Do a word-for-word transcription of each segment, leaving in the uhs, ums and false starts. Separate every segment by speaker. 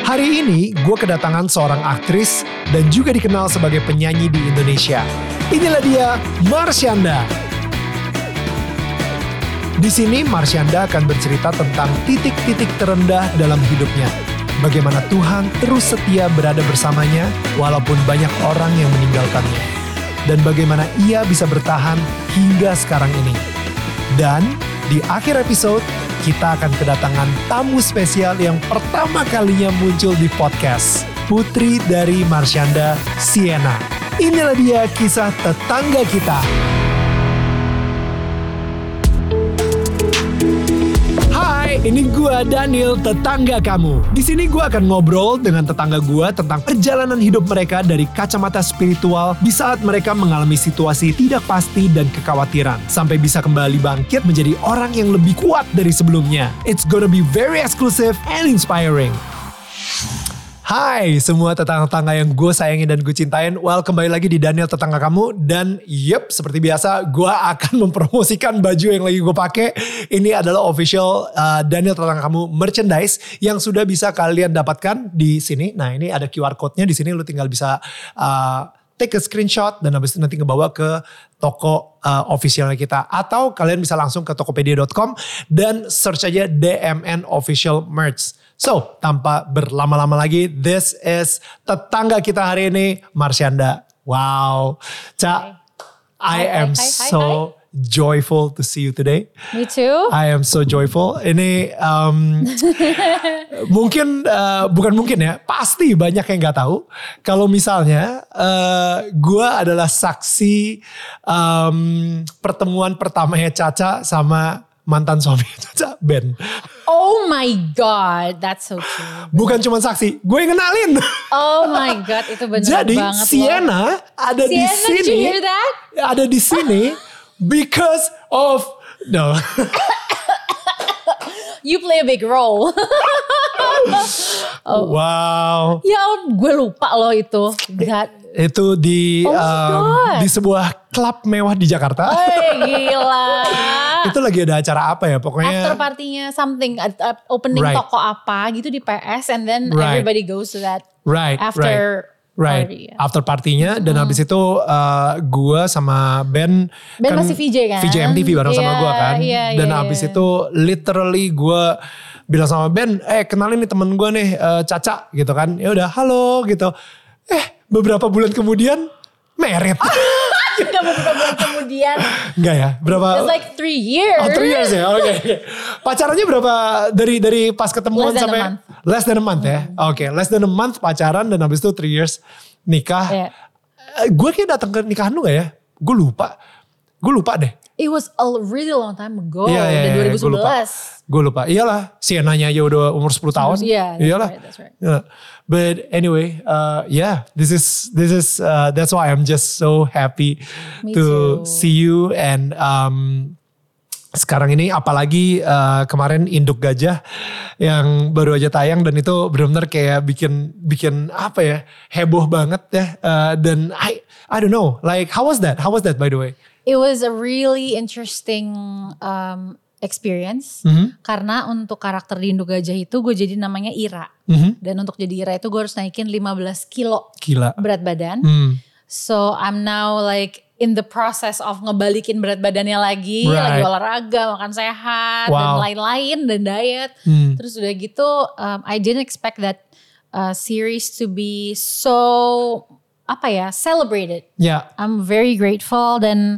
Speaker 1: Hari ini gue kedatangan seorang aktris dan juga dikenal sebagai penyanyi di Indonesia. Inilah dia, Marsyanda. Di sini Marsyanda akan bercerita tentang titik-titik terendah dalam hidupnya. Bagaimana Tuhan terus setia berada bersamanya walaupun banyak orang yang meninggalkannya. Dan bagaimana ia bisa bertahan hingga sekarang ini. Dan di akhir episode, kita akan kedatangan tamu spesial yang pertama kalinya muncul di podcast. Putri dari Marsyanda, Sienna. Inilah dia kisah tetangga kita. Hai, ini gua Daniel, tetangga kamu. Di sini gua akan ngobrol dengan tetangga gua tentang perjalanan hidup mereka dari kacamata spiritual di saat mereka mengalami situasi tidak pasti dan kekhawatiran, sampai bisa kembali bangkit menjadi orang yang lebih kuat dari sebelumnya. It's gonna be very exclusive and inspiring. Hai semua tetangga-tetangga yang gue sayangin dan gue cintain. Well, kembali lagi di Daniel Tetangga Kamu. Dan yep, seperti biasa gue akan mempromosikan baju yang lagi gue pakai. Ini adalah official uh, Daniel Tetangga Kamu merchandise yang sudah bisa kalian dapatkan di sini. Nah, ini ada Q R code-nya di sini, lu tinggal bisa uh, take a screenshot dan habis itu nanti ngebawa ke toko uh, officialnya kita. Atau kalian bisa langsung ke tokopedia dot com dan search aja D M N Official Merch. So, tanpa berlama-lama lagi, this is tetangga kita hari ini, Marsyanda. Wow. Ca, I
Speaker 2: hi,
Speaker 1: am
Speaker 2: hi, hi,
Speaker 1: so
Speaker 2: hi.
Speaker 1: joyful to see you today.
Speaker 2: Me too.
Speaker 1: I am so joyful. Ini um, mungkin, uh, bukan mungkin ya, pasti banyak yang gak tahu. Kalau misalnya uh, gue adalah saksi um, pertemuan pertamanya Caca sama mantan suami Caca, Ben.
Speaker 2: Oh my God, that's so true.
Speaker 1: Bukan cuma saksi, gue yang kenalin.
Speaker 2: Oh my God, itu benar
Speaker 1: Jadi,
Speaker 2: banget.
Speaker 1: Jadi Sienna ada
Speaker 2: Sienna,
Speaker 1: di
Speaker 2: did
Speaker 1: sini.
Speaker 2: you hear that?
Speaker 1: Ada di sini because of no.
Speaker 2: You play a big role.
Speaker 1: Oh. Wow.
Speaker 2: Ya, gue lupa loh itu. That.
Speaker 1: Itu di
Speaker 2: Oh
Speaker 1: um, di sebuah klub mewah di Jakarta.
Speaker 2: Oh gila.
Speaker 1: Itu lagi ada acara apa ya pokoknya.
Speaker 2: After partinya something, uh, uh, opening
Speaker 1: Right.
Speaker 2: toko apa gitu di P S, and then
Speaker 1: Right.
Speaker 2: everybody goes to that.
Speaker 1: Right.
Speaker 2: After
Speaker 1: right.
Speaker 2: party.
Speaker 1: Right. After partinya dan habis itu uh, gue sama Ben.
Speaker 2: Ben masih V J kan?
Speaker 1: V J M T V bareng sama
Speaker 2: Iya,
Speaker 1: gue kan.
Speaker 2: iya,
Speaker 1: Dan
Speaker 2: iya,
Speaker 1: habis
Speaker 2: iya.
Speaker 1: itu literally gue bilang sama Ben, eh kenalin nih temen gue nih uh, Caca gitu kan. Ya udah halo gitu. Eh beberapa bulan kemudian married.
Speaker 2: Gak beberapa bulan kemudian.
Speaker 1: Enggak ya? Berapa?
Speaker 2: It's like three years.
Speaker 1: Oh three years ya? Oke. Okay, okay. Pacarannya berapa dari dari pas ketemuan
Speaker 2: Less than
Speaker 1: sampai?
Speaker 2: a month.
Speaker 1: Less than a month ya? Oke, okay, less than a month pacaran dan habis itu three years nikah.
Speaker 2: Yeah.
Speaker 1: Uh, gue kayak datang ke nikahan lu gak ya? Gue lupa. Gue lupa deh.
Speaker 2: It was a really long time ago.
Speaker 1: Iya, iya,
Speaker 2: Dari
Speaker 1: iya,
Speaker 2: dua ribu
Speaker 1: gue lupa.
Speaker 2: sebelas.
Speaker 1: Gue lupa. Iyalah, Sienna-nya aja udah umur sepuluh tahun.
Speaker 2: Iya, that's
Speaker 1: Iyalah.
Speaker 2: right, that's right.
Speaker 1: Yeah. But anyway, uh, yeah, this is this is uh, that's why I'm just so happy
Speaker 2: Me
Speaker 1: to
Speaker 2: too.
Speaker 1: see you and um, sekarang ini apalagi uh, kemarin Induk Gajah yang baru aja tayang dan itu benar-benar kayak bikin bikin apa ya, heboh banget ya. Uh, dan I I don't know, like how was that? How was that by the way?
Speaker 2: It was a really interesting um, experience.
Speaker 1: Mhm.
Speaker 2: Karena untuk karakter di Induk Gajah itu gue jadi namanya Ira.
Speaker 1: Mhm.
Speaker 2: Dan untuk jadi Ira itu gue harus naikin lima belas kilo
Speaker 1: Gila.
Speaker 2: berat badan.
Speaker 1: Hmm.
Speaker 2: So I'm now like in the process of ngebalikin berat badannya lagi.
Speaker 1: Right.
Speaker 2: Lagi olahraga, makan sehat, dan
Speaker 1: Wow.
Speaker 2: lain-lain, dan diet.
Speaker 1: Hmm.
Speaker 2: Terus udah gitu um, I didn't expect that uh, series to be so apa ya, celebrated.
Speaker 1: Ya.
Speaker 2: I'm very grateful dan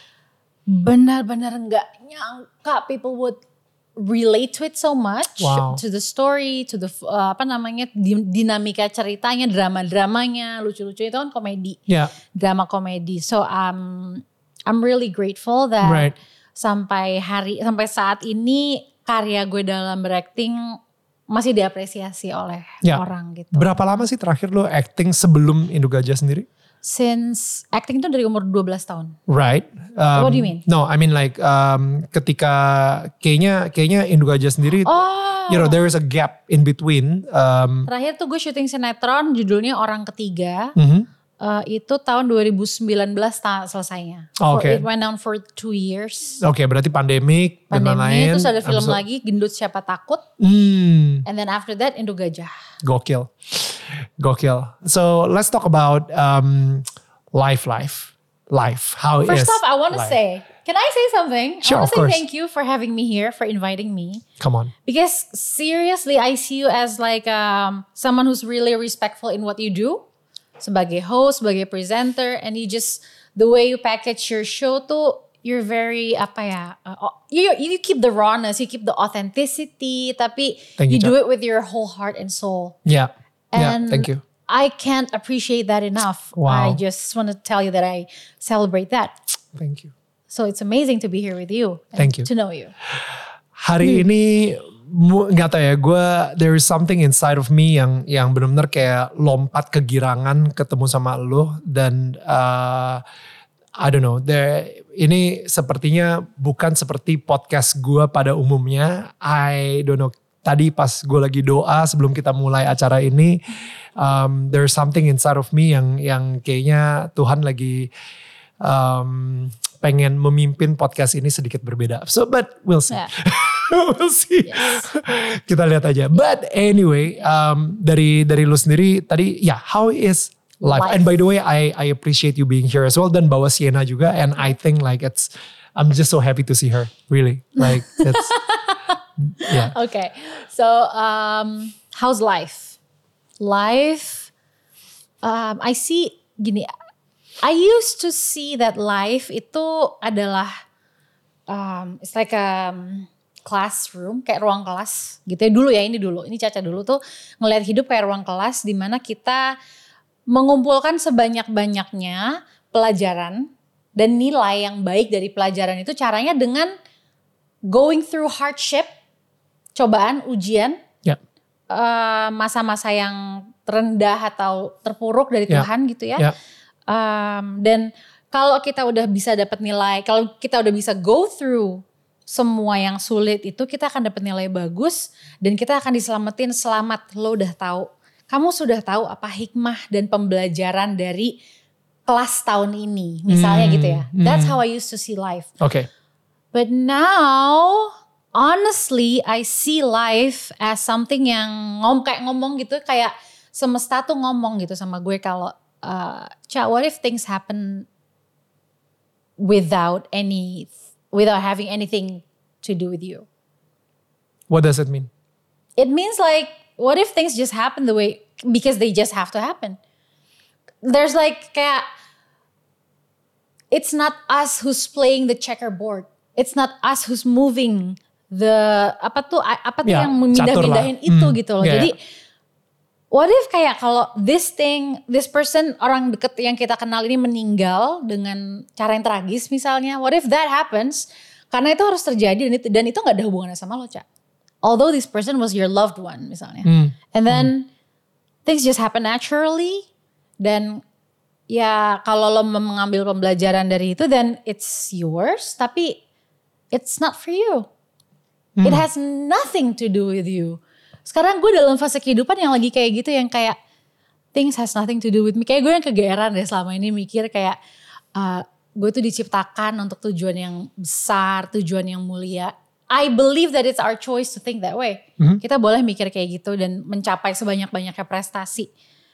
Speaker 2: benar-benar nggak nyangka people would relate to it so much,
Speaker 1: Wow.
Speaker 2: to the story, to the uh, apa namanya di- dinamika ceritanya, drama-dramanya, lucu-lucu itu kan komedi,
Speaker 1: Ya.
Speaker 2: drama komedi. So um, I'm really grateful that
Speaker 1: Right.
Speaker 2: sampai hari sampai saat ini karya gue dalam berakting masih diapresiasi oleh
Speaker 1: Ya.
Speaker 2: orang gitu.
Speaker 1: Berapa lama sih terakhir lo acting sebelum Induk Gajah sendiri?
Speaker 2: Since acting itu dari umur dua belas tahun.
Speaker 1: Right. Um,
Speaker 2: What do you mean?
Speaker 1: No, I mean like um, ketika kayaknya kayaknya Induk Gajah sendiri,
Speaker 2: Oh.
Speaker 1: you know, there is a gap in between. Um,
Speaker 2: Terakhir tuh gue syuting sinetron judulnya Orang Ketiga.
Speaker 1: mhm.
Speaker 2: uh, itu tahun dua ribu sembilan belas ta- selesainya.
Speaker 1: Oh,
Speaker 2: For-
Speaker 1: okay.
Speaker 2: It went on for two years.
Speaker 1: Oke, okay, berarti pandemik, dan
Speaker 2: Pandemi,
Speaker 1: lain-lain.
Speaker 2: terus ada film
Speaker 1: Abis-
Speaker 2: lagi Gendut Siapa Takut.
Speaker 1: Hmm.
Speaker 2: And then after that Indo Gajah.
Speaker 1: Gokil. Gokil. So let's talk about um, life, life, life. How
Speaker 2: First
Speaker 1: is
Speaker 2: off, I want to
Speaker 1: life?
Speaker 2: say, can I say something?
Speaker 1: Sure,
Speaker 2: I want
Speaker 1: of
Speaker 2: to say
Speaker 1: course.
Speaker 2: thank you for having me here, for inviting me.
Speaker 1: Come on.
Speaker 2: Because seriously, I see you as like um, someone who's really respectful in what you do. Sebagai host, sebagai presenter, and you just, the way you package your show tuh, you're very, apa ya, uh, you, you keep the rawness, you keep the authenticity, tapi
Speaker 1: Thank you,
Speaker 2: you do
Speaker 1: Chap.
Speaker 2: it with your whole heart and soul.
Speaker 1: Yeah.
Speaker 2: And
Speaker 1: yeah, thank you.
Speaker 2: I can't appreciate that enough.
Speaker 1: Wow.
Speaker 2: I just want to tell you that I celebrate that.
Speaker 1: Thank you.
Speaker 2: So it's amazing to be here with you. And
Speaker 1: Thank you.
Speaker 2: To know you.
Speaker 1: Hari ini mu- nggak tahu ya, gue there is something inside of me yang yang benar-benar kayak lompat kegirangan ketemu sama lo, dan uh, I don't know, there, ini sepertinya bukan seperti podcast gue pada umumnya. I don't know. Tadi pas gue lagi doa sebelum kita mulai acara ini, um, there's something inside of me yang yang kayaknya Tuhan lagi um, pengen memimpin podcast ini sedikit berbeda. So but we'll see.
Speaker 2: Yeah.
Speaker 1: We'll see.
Speaker 2: Yes.
Speaker 1: Kita lihat aja. But anyway, um, dari dari lu sendiri tadi, ya, yeah, how is life?
Speaker 2: Life.
Speaker 1: And by the way, I I appreciate you being here as well, dan bawa Sienna juga, and I think like it's, I'm just so happy to see her. Really, like it's, yeah.
Speaker 2: Okay. So um, how's life? Life, um, I see gini. I used to see that life itu adalah, um, it's like a classroom, kayak ruang kelas gitu ya. Dulu ya, ini dulu, ini Caca dulu tuh ngelihat hidup kayak ruang kelas di mana kita mengumpulkan sebanyak-banyaknya pelajaran dan nilai yang baik dari pelajaran itu, caranya dengan going through hardship, cobaan, ujian,
Speaker 1: Yeah.
Speaker 2: uh, masa-masa yang terendah atau terpuruk dari
Speaker 1: Yeah.
Speaker 2: Tuhan gitu ya.
Speaker 1: Yeah.
Speaker 2: Um, dan kalau kita udah bisa dapat nilai, kalau kita udah bisa go through semua yang sulit itu, kita akan dapat nilai bagus dan kita akan diselamatin. Selamat, lo udah tahu. Kamu sudah tahu apa hikmah dan pembelajaran dari kelas tahun ini. Misalnya
Speaker 1: Hmm,
Speaker 2: gitu ya.
Speaker 1: hmm.
Speaker 2: That's how I used to see life.
Speaker 1: Okay.
Speaker 2: But now, honestly, I see life as something yang ngom kayak ngomong gitu, kayak semesta tuh ngomong gitu sama gue kalau, uh, Ca, what if things happen without any, without having anything to do with you?
Speaker 1: What does it mean?
Speaker 2: It means like, what if things just happen the way, because they just have to happen. There's like kayak, it's not us who's playing the checkerboard. It's not us who's moving the, apa tuh, apa tuh
Speaker 1: Ya,
Speaker 2: yang memindah-mindahin
Speaker 1: catur lah.
Speaker 2: itu
Speaker 1: Hmm,
Speaker 2: gitu loh.
Speaker 1: ya,
Speaker 2: Jadi,
Speaker 1: ya.
Speaker 2: what if kayak kalau this thing, this person, orang deket yang kita kenal ini meninggal dengan cara yang tragis misalnya. What if that happens? Karena itu harus terjadi dan itu, dan itu gak ada hubungannya sama lo, Ca. Although this person was your loved one misalnya.
Speaker 1: Hmm.
Speaker 2: And then things just happen naturally. Dan ya kalau lo mengambil pembelajaran dari itu, then it's yours. Tapi it's not for you. It has nothing to do with you. Sekarang gue dalam fase kehidupan yang lagi kayak gitu, yang kayak things has nothing to do with me. Kayak gue yang kegeeran deh selama ini mikir kayak uh, gue tuh diciptakan untuk tujuan yang besar, tujuan yang mulia. I believe that it's our choice to think that way.
Speaker 1: Mhm.
Speaker 2: Kita boleh mikir kayak gitu dan mencapai sebanyak-banyaknya prestasi.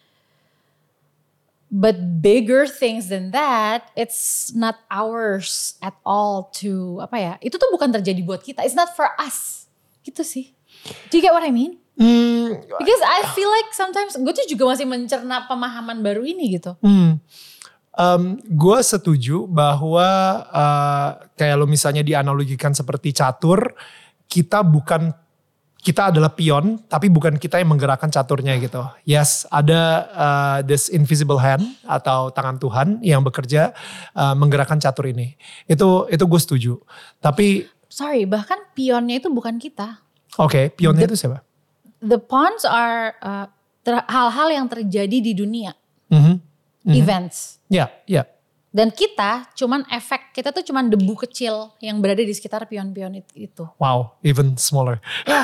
Speaker 2: But bigger things than that, it's not ours at all to, apa ya, itu tuh bukan terjadi buat kita. It's not for us. Gitu sih. Do you get what I mean?
Speaker 1: Hmm,
Speaker 2: Because I feel like sometimes gue tuh juga masih mencerna pemahaman baru ini gitu.
Speaker 1: Hmm. Um, gue setuju bahwa uh, kayak lo misalnya dianalogikan seperti catur, kita bukan, kita adalah pion, tapi bukan kita yang menggerakkan caturnya gitu. Yes, ada uh, this invisible hand atau tangan Tuhan yang bekerja uh, menggerakkan catur ini. Itu itu gue setuju. Tapi
Speaker 2: Sorry, bahkan pionnya itu bukan kita.
Speaker 1: oke, okay, pionnya
Speaker 2: The-
Speaker 1: itu siapa?
Speaker 2: The pawns are uh, ter- hal-hal yang terjadi di dunia,
Speaker 1: Mhm, mhm.
Speaker 2: events.
Speaker 1: Ya, ya.
Speaker 2: Dan kita cuman efek, kita tuh cuman debu kecil yang berada di sekitar pion-pion it- itu.
Speaker 1: Wow, even smaller.
Speaker 2: Ya.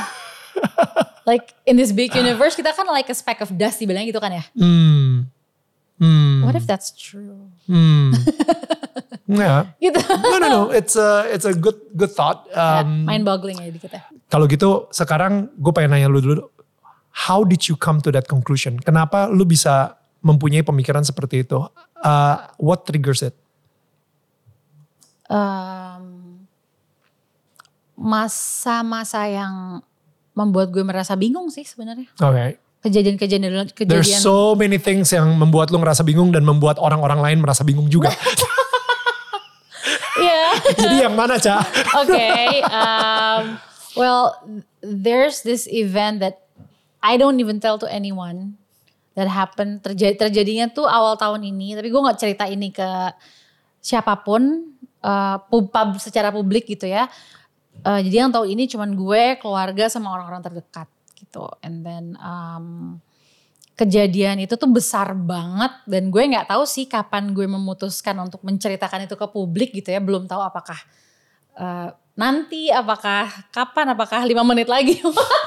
Speaker 2: Like in this big universe kita kan like a speck of dust dibilangnya gitu kan ya.
Speaker 1: Hmm. Hmm.
Speaker 2: What What if that's true?
Speaker 1: Hmm. Yeah.
Speaker 2: Gitu.
Speaker 1: No no no, it's a it's a good good thought. Um,
Speaker 2: Mind boggling ya dikit ya.
Speaker 1: Kalau gitu sekarang gue pengen nanya lu dulu. How did you come to that conclusion? Kenapa lu bisa mempunyai pemikiran seperti itu? Uh, what triggers it?
Speaker 2: Um, masa-masa yang membuat gue merasa bingung sih sebenarnya.
Speaker 1: Oke. Okay.
Speaker 2: Kejadian-kejadian kejadian.
Speaker 1: There's so many things yang membuat lu ngerasa bingung dan membuat orang-orang lain merasa bingung juga.
Speaker 2: Iya.
Speaker 1: Jadi yang mana, Ca?
Speaker 2: Oke. Okay, um, well, there's this event that I don't even tell to anyone that happened. Terjadi, terjadinya tuh awal tahun ini. Tapi gue gak cerita ini ke siapapun. Uh, pub, pub, secara publik gitu ya. Uh, jadi yang tahu ini cuman gue, keluarga sama orang-orang terdekat gitu. And then um, kejadian itu tuh besar banget dan gue nggak tahu sih kapan gue memutuskan untuk menceritakan itu ke publik gitu ya. Belum tahu apakah uh, nanti, apakah kapan, apakah lima menit lagi.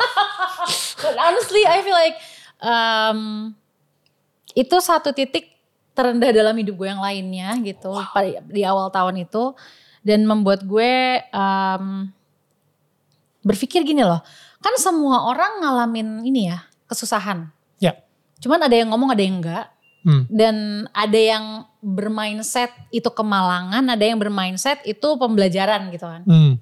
Speaker 2: But honestly, I feel like um, itu satu titik terendah dalam hidup gue yang lainnya gitu. Wow. Di awal tahun itu. Dan membuat gue um, berpikir gini loh. Kan semua orang ngalamin ini ya, kesusahan.
Speaker 1: Ya. Yeah.
Speaker 2: Cuman ada yang ngomong, ada yang enggak.
Speaker 1: Hmm.
Speaker 2: Dan ada yang bermindset itu kemalangan, ada yang bermindset itu pembelajaran gitu kan.
Speaker 1: Hmm.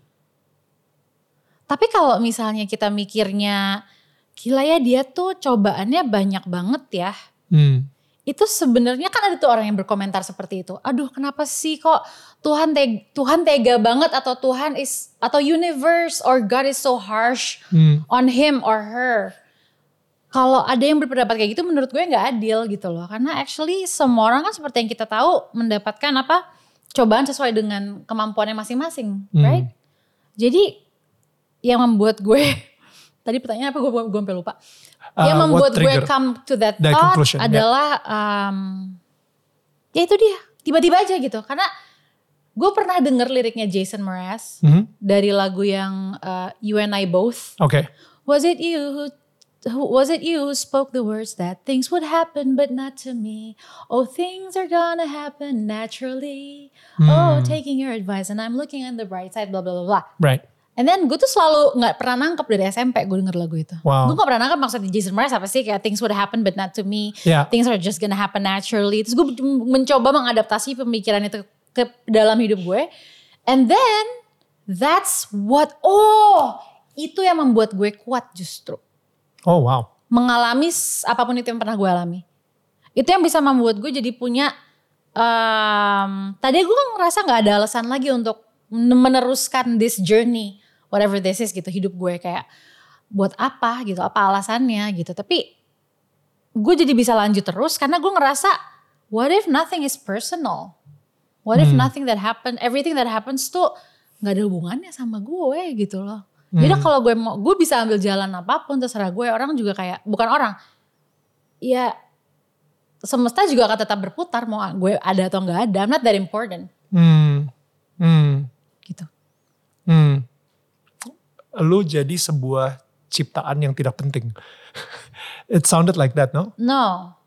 Speaker 2: Tapi kalau misalnya kita mikirnya, gila ya dia tuh cobaannya banyak banget ya. Hmm. Itu sebenarnya kan ada tuh orang yang berkomentar seperti itu. Aduh, kenapa sih kok Tuhan tega, Tuhan tega banget atau Tuhan is atau universe or God is so harsh hmm. on him or her. Kalau ada yang berpendapat kayak gitu menurut gue nggak adil gitu loh. Karena actually semua orang kan seperti yang kita tahu mendapatkan apa cobaan sesuai dengan kemampuannya masing-masing, hmm. right? Jadi yang membuat gue tadi pertanyaan apa gue gue sampai lupa. Uh, yang membuat gue come to that thought adalah yeah. um, ya itu dia tiba-tiba aja gitu karena gue pernah denger liriknya Jason Mraz mm-hmm. dari lagu yang uh, You and I Both.
Speaker 1: Okay.
Speaker 2: Was it you who, who was it you who spoke the words that things would happen but not to me? Oh, things are gonna happen naturally. Mm. Oh, taking your advice and I'm looking on the bright side. Blah blah blah blah.
Speaker 1: Right.
Speaker 2: And then gue tuh selalu gak pernah nangkep dari S M P gue denger lagu itu.
Speaker 1: Wow.
Speaker 2: Gue gak pernah nangkep maksudnya Jason Mraz apa sih. Kayak things would happen but not to me.
Speaker 1: Yeah.
Speaker 2: Things are just gonna happen naturally. Terus gue mencoba mengadaptasi pemikiran itu ke dalam hidup gue. And then that's what, oh itu yang membuat gue kuat justru.
Speaker 1: Oh wow.
Speaker 2: Mengalami apapun itu yang pernah gue alami. Itu yang bisa membuat gue jadi punya, um, tadi gue kan ngerasa gak ada alasan lagi untuk meneruskan this journey. Whatever this is gitu hidup gue kayak buat apa gitu apa alasannya gitu tapi gue jadi bisa lanjut terus karena gue ngerasa what if nothing is personal, what if hmm. nothing that happen everything that happens tuh nggak ada hubungannya sama gue gitu loh. hmm. Jadi kalau gue mau gue bisa ambil jalan apapun terserah gue, orang juga kayak bukan orang ya semesta juga akan tetap berputar mau gue ada atau nggak ada. I'm not that important.
Speaker 1: hmm. Hmm.
Speaker 2: Gitu.
Speaker 1: Hmm. Lu jadi sebuah ciptaan yang tidak penting. It sounded like that, no?
Speaker 2: No.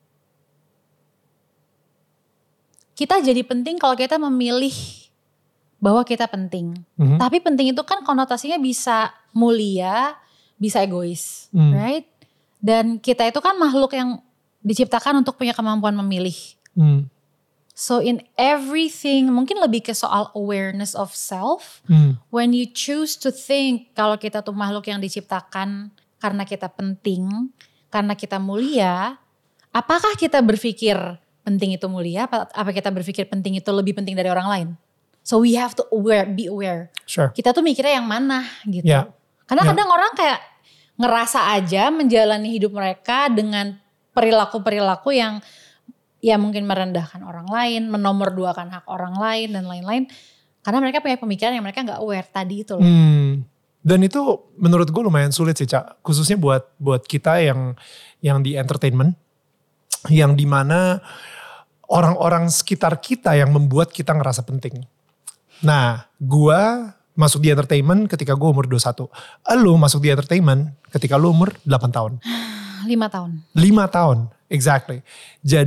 Speaker 2: Kita jadi penting kalau kita memilih bahwa kita penting. Mm-hmm. Tapi penting itu kan konotasinya bisa mulia, bisa egois, mm. right? Dan kita itu kan makhluk yang diciptakan untuk punya kemampuan memilih. Mm. So in everything, mungkin lebih ke soal awareness of self. Hmm. When you choose to think kalau kita tuh makhluk yang diciptakan karena kita penting, karena kita mulia, apakah kita berpikir penting itu mulia? Apa, apa kita berpikir penting itu lebih penting dari orang lain? So we have to aware, be aware.
Speaker 1: Sure.
Speaker 2: Kita tuh mikirnya yang mana gitu.
Speaker 1: Yeah.
Speaker 2: Karena
Speaker 1: yeah.
Speaker 2: kadang orang kayak ngerasa aja menjalani hidup mereka dengan perilaku-perilaku yang ya mungkin merendahkan orang lain, menomorduakan hak orang lain dan lain-lain. Karena mereka punya pemikiran yang mereka gak aware tadi itu loh.
Speaker 1: Hmm. Dan itu menurut gue lumayan sulit sih Cak. Khususnya buat buat kita yang yang di entertainment. Yang dimana orang-orang sekitar kita yang membuat kita ngerasa penting. Nah gue masuk di entertainment ketika gue umur dua puluh satu. Lu masuk di entertainment ketika lu umur delapan tahun.
Speaker 2: lima tahun.
Speaker 1: lima tahun, exactly. Jadi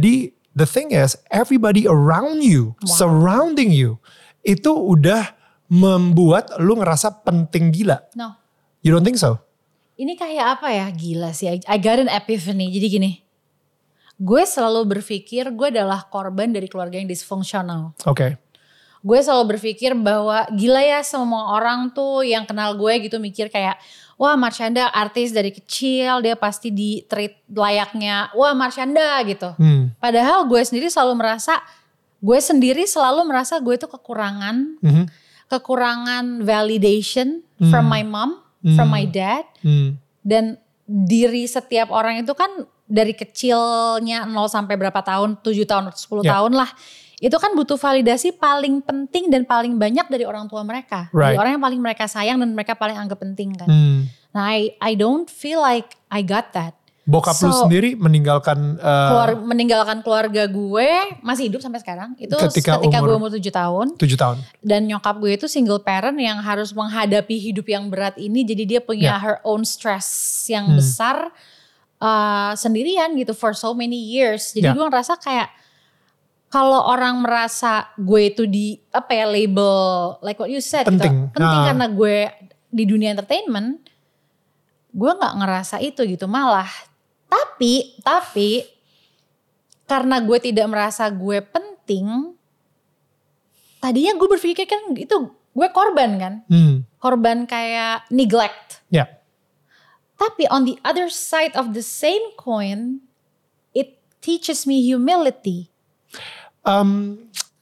Speaker 1: the thing is everybody around you, wow. surrounding you, itu udah membuat lu ngerasa penting gila.
Speaker 2: No.
Speaker 1: You don't think so?
Speaker 2: Ini kayak apa ya, gila sih. I got an epiphany. Jadi gini, gue selalu berpikir gue adalah korban dari keluarga yang disfungsional.
Speaker 1: Oke. Okay.
Speaker 2: Gue selalu berpikir bahwa gila ya semua orang tuh yang kenal gue gitu mikir kayak, wah Marshanda artis dari kecil, dia pasti di treat layaknya, wah Marshanda gitu. Hmm. Padahal gue sendiri selalu merasa, gue sendiri selalu merasa gue tuh kekurangan, mm-hmm. kekurangan validation mm. from my mom, mm. from my dad. Mm. Dan diri setiap orang itu kan dari kecilnya nol sampai berapa tahun, tujuh tahun, sepuluh yeah. tahun lah. Itu kan butuh validasi paling penting dan paling banyak dari orang tua mereka.
Speaker 1: Right.
Speaker 2: Dari orang yang paling mereka sayang dan mereka paling anggap penting kan. Hmm. Nah I, I don't feel like I got that.
Speaker 1: Bokap so, lu sendiri meninggalkan uh,
Speaker 2: keluar, meninggalkan keluarga gue masih hidup sampai sekarang. Itu
Speaker 1: ketika,
Speaker 2: ketika
Speaker 1: umur,
Speaker 2: gue umur tujuh tahun.
Speaker 1: tujuh tahun.
Speaker 2: Dan nyokap gue itu single parent yang harus menghadapi hidup yang berat ini. Jadi dia punya yeah. her own stress yang hmm. besar uh, sendirian gitu for so many years. Jadi yeah. gue ngerasa kayak kalau orang merasa gue itu di apa ya label like what you said
Speaker 1: penting,
Speaker 2: gitu, penting
Speaker 1: nah.
Speaker 2: karena gue di dunia entertainment, gue nggak ngerasa itu gitu malah. Tapi tapi karena gue tidak merasa gue penting, tadinya gue berpikir kan itu gue korban kan, hmm. korban kayak neglect.
Speaker 1: Yeah.
Speaker 2: Tapi on the other side of the same coin, it teaches me humility.
Speaker 1: Um,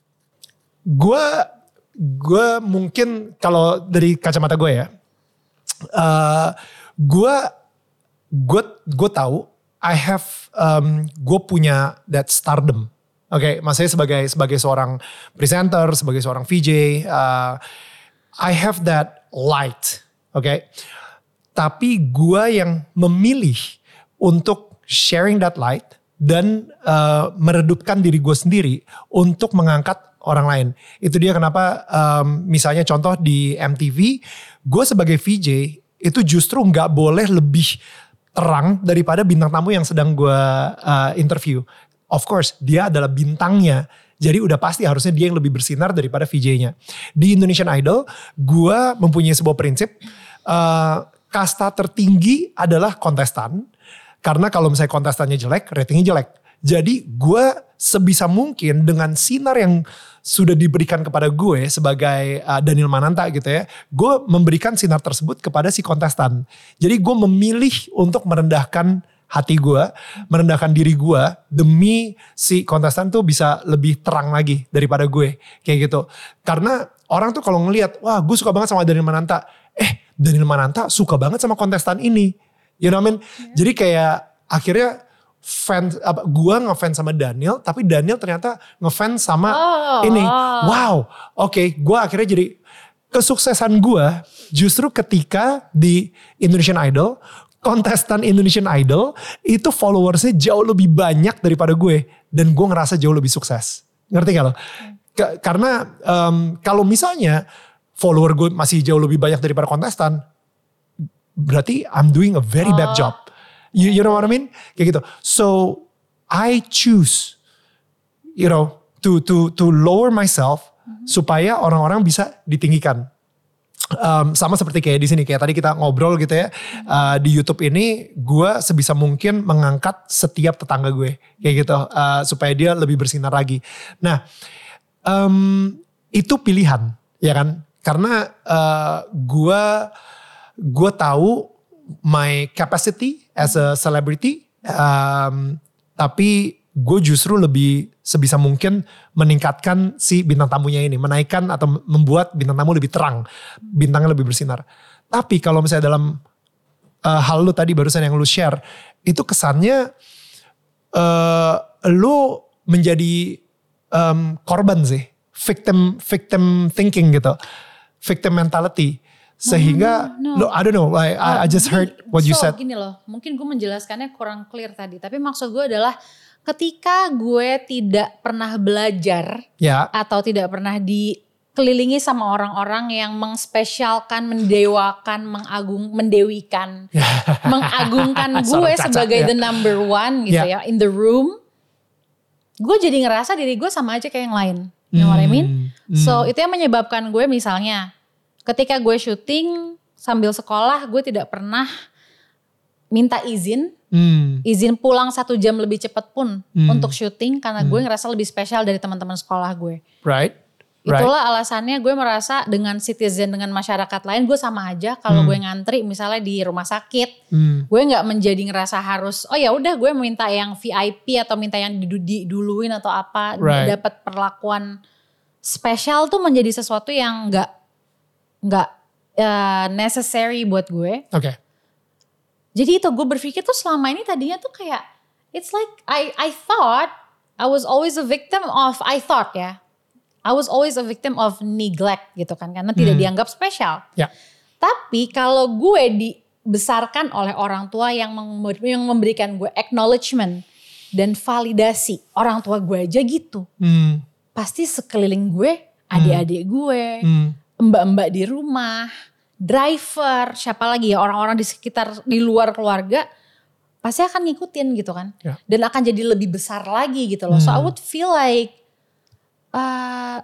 Speaker 1: gue gue mungkin kalau dari kacamata gue ya, uh, gue gue gue tahu I have um, gue punya that stardom, oke, okay? Maksudnya sebagai sebagai seorang presenter, sebagai seorang V J, uh, I have that light, oke, okay? Tapi gue yang memilih untuk sharing that light. Dan uh, meredupkan diri gue sendiri untuk mengangkat orang lain. Itu dia kenapa um, misalnya contoh di M T V, gue sebagai V J itu justru gak boleh lebih terang daripada bintang tamu yang sedang gue uh, interview. Of course dia adalah bintangnya, jadi udah pasti harusnya dia yang lebih bersinar daripada V J-nya. Di Indonesian Idol, gue mempunyai sebuah prinsip, uh, kasta tertinggi adalah kontestan. Karena kalau misalnya kontestannya jelek, ratingnya jelek. Jadi gue sebisa mungkin dengan sinar yang sudah diberikan kepada gue sebagai uh, Daniel Mananta gitu ya. Gue memberikan sinar tersebut kepada si kontestan. Jadi gue memilih untuk merendahkan hati gue, merendahkan diri gue demi si kontestan tuh bisa lebih terang lagi daripada gue. Kayak gitu. Karena orang tuh kalau ngelihat, wah gue suka banget sama Daniel Mananta. Eh Daniel Mananta suka banget sama kontestan ini. You know what I mean? Yeah. Jadi kayak akhirnya fans apa gua ngefans sama Daniel, tapi Daniel ternyata ngefans sama oh, ini. Wow. Oke, okay, gua akhirnya jadi kesuksesan gua justru ketika di Indonesian Idol, kontestan Indonesian Idol itu followersnya jauh lebih banyak daripada gue dan gue ngerasa jauh lebih sukses. Ngerti gak lo? Ke, karena um, kalau misalnya follower gue masih jauh lebih banyak daripada kontestan, berarti I'm doing a very bad job. You, you know what I mean? Kayak gitu. So I choose, you know, to to to lower myself mm-hmm. supaya orang-orang bisa ditinggikan. Um, sama seperti kayak di sini, kayak tadi kita ngobrol gitu ya. Uh, di YouTube ini, gue sebisa mungkin mengangkat setiap tetangga gue, kayak gitu, uh, supaya dia lebih bersinar lagi. Nah, um, itu pilihan, ya kan? Karena uh, gue gue tahu my capacity as a celebrity, um, tapi gue justru lebih sebisa mungkin meningkatkan si bintang tamunya ini, menaikkan atau membuat bintang tamu lebih terang, bintangnya lebih bersinar. Tapi kalau misalnya dalam uh, hal lu tadi barusan yang lu share, itu kesannya uh, lu menjadi um, korban sih, victim victim thinking gitu, victim mentality. Sehingga, no, no, no. Lo, I don't know, like, I, I just heard what you
Speaker 2: so,
Speaker 1: said.
Speaker 2: Gini loh, mungkin gue menjelaskannya kurang clear tadi. Tapi maksud gue adalah ketika gue tidak pernah belajar
Speaker 1: ya.
Speaker 2: Atau tidak pernah dikelilingi sama orang-orang yang mengspesialkan, mendewakan, mengagung, mendewikan, mengagungkan gue sebagai ya. the number one gitu ya. ya in the room. gue jadi ngerasa diri gue sama aja kayak yang lain. You know what I mean?
Speaker 1: Hmm.
Speaker 2: So itu yang menyebabkan gue misalnya ketika gue syuting sambil sekolah gue tidak pernah minta izin.
Speaker 1: Hmm.
Speaker 2: Izin pulang satu jam lebih cepat pun
Speaker 1: Hmm.
Speaker 2: untuk syuting karena gue ngerasa lebih spesial dari teman-teman sekolah gue.
Speaker 1: Right. Right.
Speaker 2: Itulah alasannya gue merasa dengan citizen, dengan masyarakat lain gue sama aja. Kalau
Speaker 1: Hmm.
Speaker 2: gue ngantri misalnya di rumah sakit,
Speaker 1: Hmm.
Speaker 2: gue nggak menjadi ngerasa harus oh ya udah gue minta yang V I P atau minta yang diduluin atau apa,
Speaker 1: Right.
Speaker 2: dapat perlakuan spesial tuh menjadi sesuatu yang nggak nggak uh, necessary buat gue.
Speaker 1: Oke. Okay.
Speaker 2: Jadi itu gue berpikir tuh selama ini tadinya tuh kayak it's like I I thought I was always a victim of I thought ya. I was always a victim of neglect gitu kan karena tidak
Speaker 1: Hmm.
Speaker 2: dianggap spesial.
Speaker 1: Ya.
Speaker 2: Tapi kalau gue dibesarkan oleh orang tua yang, mem- yang memberikan gue acknowledgement dan validasi, orang tua gue aja gitu.
Speaker 1: Hmm.
Speaker 2: Pasti sekeliling gue, adik-adik gue,
Speaker 1: Hmm.
Speaker 2: mbak-mbak di rumah, driver, siapa lagi ya orang-orang di sekitar di luar keluarga pasti akan ngikutin gitu kan.
Speaker 1: Ya.
Speaker 2: Dan akan jadi lebih besar lagi gitu loh. So I
Speaker 1: Hmm.
Speaker 2: would feel like uh,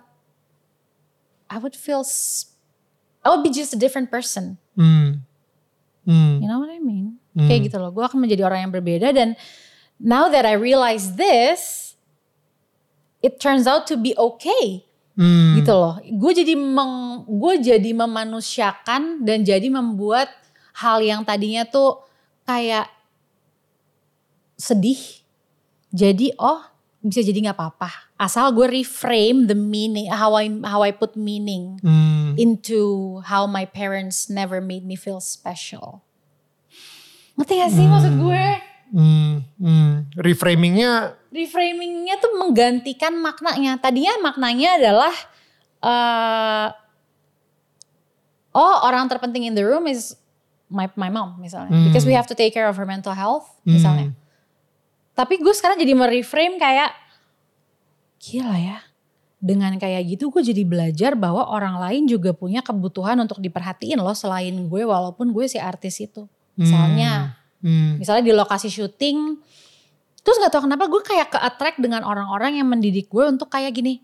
Speaker 2: I would feel s- I would be just a different person.
Speaker 1: Hmm. Hmm.
Speaker 2: You know what I mean?
Speaker 1: Hmm.
Speaker 2: Kayak gitu loh. Gue akan menjadi orang yang berbeda dan now that I realize this, it turns out to be okay.
Speaker 1: Hmm.
Speaker 2: Gitu loh. Gue jadi meng, gue jadi memanusiakan dan jadi membuat hal yang tadinya tuh kayak sedih. Jadi oh bisa jadi nggak apa-apa. Asal gue reframe the meaning, how I how I put meaning
Speaker 1: Hmm.
Speaker 2: into how my parents never made me feel special. Ngerti gak sih maksud gue?
Speaker 1: Hmm. Hmm. Reframingnya.
Speaker 2: Reframingnya tuh menggantikan maknanya. Tadinya maknanya adalah uh, oh orang terpenting in the room is my my mom misalnya,
Speaker 1: Hmm.
Speaker 2: because we have to take care of her mental health misalnya.
Speaker 1: Hmm.
Speaker 2: Tapi gue sekarang jadi mereframe kayak gila ya. Dengan kayak gitu gue jadi belajar bahwa orang lain juga punya kebutuhan untuk diperhatiin loh selain gue walaupun gue si artis itu. Misalnya,
Speaker 1: Hmm.
Speaker 2: misalnya di lokasi syuting, terus gak tahu kenapa gue kayak ke-attract dengan orang-orang yang mendidik gue untuk kayak gini.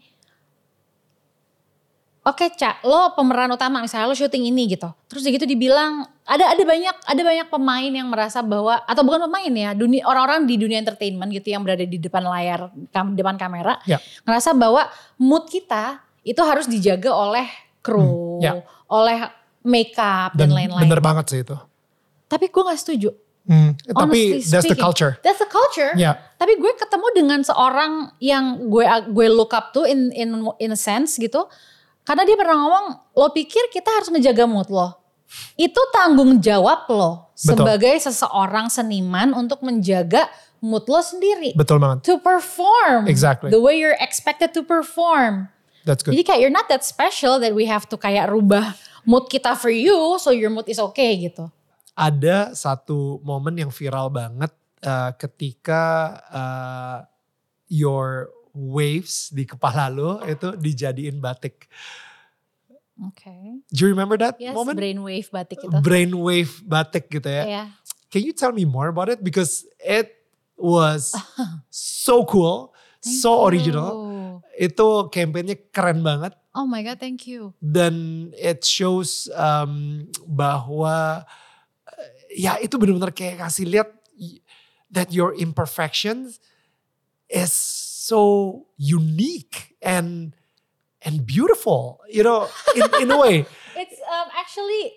Speaker 2: Oke Cak, lo pemeran utama misalnya lo syuting ini gitu. Terus gitu dibilang ada ada banyak ada banyak pemain yang merasa bahwa atau bukan pemain ya, dunia orang-orang di dunia entertainment gitu yang berada di depan layar, kam, depan kamera,
Speaker 1: Ya.
Speaker 2: ngerasa bahwa mood kita itu harus dijaga oleh kru,
Speaker 1: Hmm, ya.
Speaker 2: oleh makeup dan,
Speaker 1: Dan
Speaker 2: lain-lain.
Speaker 1: bener banget sih itu.
Speaker 2: Tapi gue gak setuju.
Speaker 1: Hmm. Tapi
Speaker 2: Honestly
Speaker 1: that's the
Speaker 2: speaking,
Speaker 1: culture.
Speaker 2: That's the culture.
Speaker 1: Ya.
Speaker 2: Tapi gue ketemu dengan seorang yang gue gue look up to in in in a sense gitu. Karena dia pernah ngomong, lo pikir kita harus ngejaga mood lo. Itu tanggung jawab lo
Speaker 1: Betul.
Speaker 2: sebagai seseorang seniman untuk menjaga mood lo sendiri.
Speaker 1: Betul banget.
Speaker 2: To perform.
Speaker 1: Exactly.
Speaker 2: The way you're expected to perform.
Speaker 1: That's good.
Speaker 2: Jadi kayak you're not that special that we have to kayak rubah mood kita for you so your mood is okay gitu.
Speaker 1: Ada satu momen yang viral banget uh, ketika uh, your waves di kepala lo itu dijadiin batik.
Speaker 2: Oke. Okay.
Speaker 1: Do you remember that
Speaker 2: Yes,
Speaker 1: moment?
Speaker 2: brainwave batik itu.
Speaker 1: Brainwave batik gitu ya.
Speaker 2: Yeah.
Speaker 1: Can you tell me more about it? Because it was so cool, so
Speaker 2: you.
Speaker 1: original. Itu campaignnya keren banget.
Speaker 2: Oh my God, thank you.
Speaker 1: Dan it shows um, bahwa ya itu benar-benar kayak kasih lihat that your imperfections is so unique and and beautiful, you know, in in a way.
Speaker 2: It's um, actually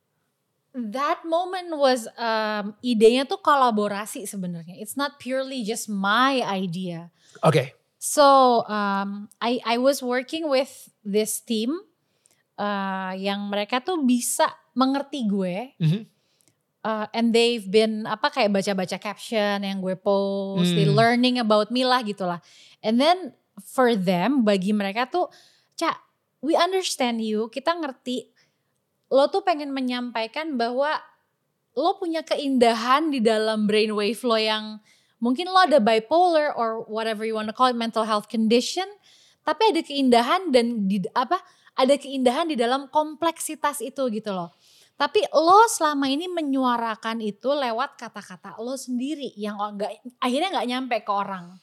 Speaker 2: that moment was um, idenya tuh kolaborasi sebenarnya. It's not purely just my idea.
Speaker 1: Oke. Okay.
Speaker 2: So um, I I was working with this team uh, yang mereka tuh bisa mengerti gue.
Speaker 1: Mm-hmm.
Speaker 2: Uh, and they've been apa kayak baca-baca caption yang gue post,
Speaker 1: Hmm.
Speaker 2: they learning about me lah gitulah. And then for them, bagi mereka tuh, Cak, we understand you, kita ngerti. Lo tuh pengen menyampaikan bahwa lo punya keindahan di dalam brainwave lo yang mungkin lo ada bipolar or whatever you want to call it, mental health condition. Tapi ada keindahan dan di apa? Ada keindahan di dalam kompleksitas itu gitu loh. Tapi lo selama ini menyuarakan itu lewat kata-kata lo sendiri yang gak, akhirnya gak nyampe ke orang.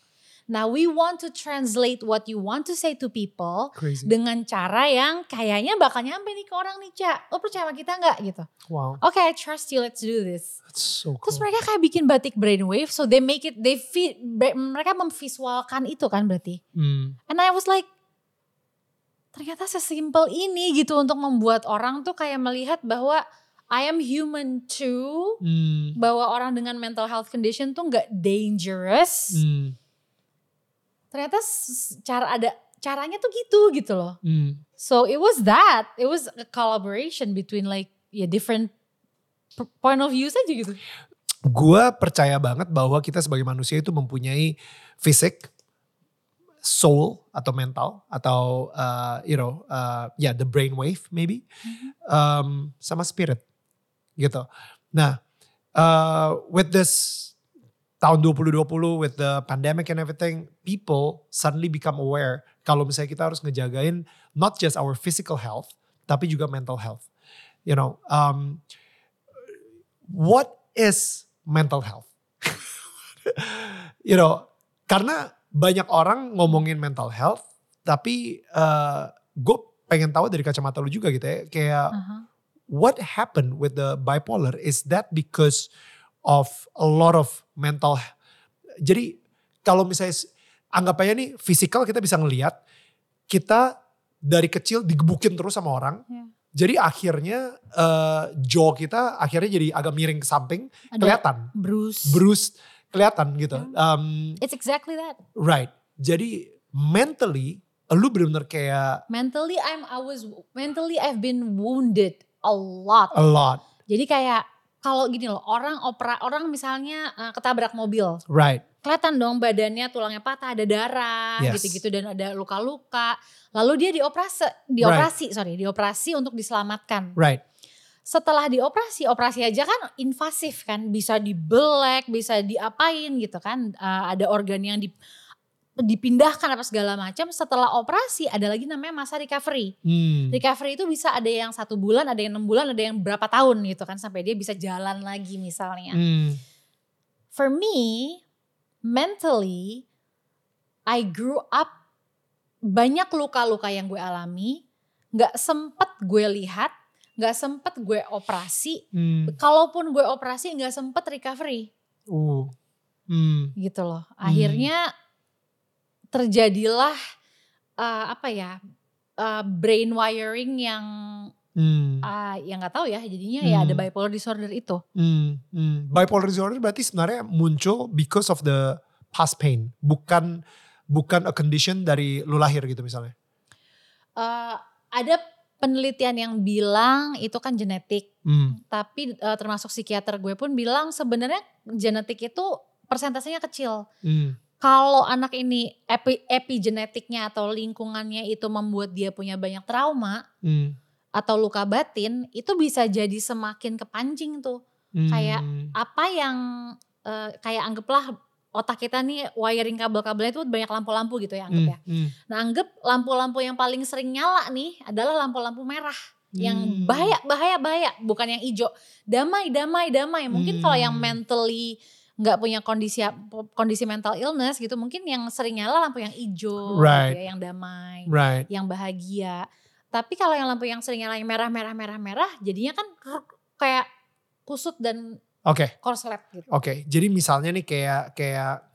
Speaker 2: Nah, we want to translate what you want to say to people
Speaker 1: Crazy.
Speaker 2: dengan cara yang kayaknya bakal nyampe nih ke orang nih, Ca. Lo percaya sama kita gak gitu?
Speaker 1: Wow.
Speaker 2: Oke, okay, I trust you, let's do this.
Speaker 1: That's so cool.
Speaker 2: Terus mereka kayak bikin batik brainwave, so they make it, they fit, mereka memvisualkan itu kan berarti.
Speaker 1: Hmm.
Speaker 2: And I was like, ternyata sesimpel ini gitu untuk membuat orang tuh kayak melihat bahwa I am human too.
Speaker 1: Hmm.
Speaker 2: Bahwa orang dengan mental health condition tuh gak dangerous.
Speaker 1: Hmm.
Speaker 2: Ternyata cara ada caranya tuh gitu gitu loh.
Speaker 1: Hmm.
Speaker 2: So it was that, it was a collaboration between like ya yeah, different point of views aja gitu.
Speaker 1: Gua percaya banget bahwa kita sebagai manusia itu mempunyai fisik, soul atau mental atau uh, you know uh, ya yeah, the brain wave maybe mm-hmm. um, sama spirit gitu. Nah uh, with this tahun dua ribu dua puluh with the pandemic and everything, people suddenly become aware kalau misalnya kita harus ngejagain not just our physical health tapi juga mental health. You know, um, what is mental health? You know, karena banyak orang ngomongin mental health, tapi uh, gue pengen tahu dari kacamata lu juga gitu ya, kayak uh-huh. what happened with the bipolar? Is that because of a lot of mental, jadi kalau misalnya anggap aja nih fisikal kita bisa ngelihat, kita dari kecil digebukin terus sama orang, yeah. Jadi akhirnya uh, jaw kita akhirnya jadi agak miring ke samping, ada kelihatan.
Speaker 2: Bruise.
Speaker 1: Bruise kelihatan gitu.
Speaker 2: Yeah.
Speaker 1: Um,
Speaker 2: It's exactly that.
Speaker 1: Right. Jadi mentally, lu benar-benar kayak.
Speaker 2: Mentally, I'm I was mentally I've been wounded a lot.
Speaker 1: A lot.
Speaker 2: Jadi kayak kalau gini loh, orang opera, orang misalnya uh, ketabrak mobil.
Speaker 1: Right.
Speaker 2: Kelihatan dong badannya, tulangnya patah, ada darah,
Speaker 1: yes.
Speaker 2: gitu-gitu dan ada luka-luka. Lalu dia dioperasi, dioperasi, right. sorry, dioperasi untuk diselamatkan.
Speaker 1: Right.
Speaker 2: Setelah dioperasi, operasi aja kan invasif kan, bisa dibelek, bisa diapain gitu kan. Uh, ada organ yang di, dipindahkan apa segala macam. Setelah operasi ada lagi namanya masa recovery. Hmm. Recovery itu bisa ada yang satu bulan, ada yang enam bulan, ada yang berapa tahun gitu kan sampai dia bisa jalan lagi misalnya. Hmm. For me, mentally, I grew up banyak luka-luka yang gue alami, nggak sempet gue lihat, nggak sempet gue operasi. Hmm. Kalaupun gue operasi nggak sempet recovery. Uh. Hmm. Gitu loh. Akhirnya hmm. terjadilah uh, apa ya uh, brain wiring yang hmm. uh, yang nggak tahu ya. Jadinya hmm. ya ada bipolar disorder itu.
Speaker 1: Hmm. Hmm. Bipolar disorder berarti sebenarnya muncul because of the past pain, bukan bukan a condition dari lu lahir gitu misalnya.
Speaker 2: Uh, ada penelitian yang bilang itu kan genetik, hmm. tapi uh, termasuk psikiater gue pun bilang sebenarnya genetik itu persentasenya kecil. Hmm. Kalau anak ini epi, epigenetiknya atau lingkungannya itu membuat dia punya banyak trauma hmm. atau luka batin, itu bisa jadi semakin kepancing tuh. Hmm. Kayak apa yang uh, kayak anggaplah otak kita nih wiring kabel-kabelnya itu banyak lampu-lampu gitu ya anggap ya. Hmm, hmm. Nah anggap lampu-lampu yang paling sering nyala nih adalah lampu-lampu merah. Hmm. Yang bahaya, bahaya, bahaya. Bukan yang hijau. Damai, damai, damai. Mungkin hmm. kalau yang mentally gak punya kondisi kondisi mental illness gitu. Mungkin yang sering nyala lampu yang hijau.
Speaker 1: Right.
Speaker 2: Gitu ya, yang damai.
Speaker 1: Right.
Speaker 2: Yang bahagia. Tapi kalau yang lampu yang sering nyala yang merah, merah, merah, merah. Jadinya kan kayak kusut dan
Speaker 1: Oke. Okay.
Speaker 2: Korslet gitu.
Speaker 1: Oke, okay. Jadi misalnya nih kayak kayak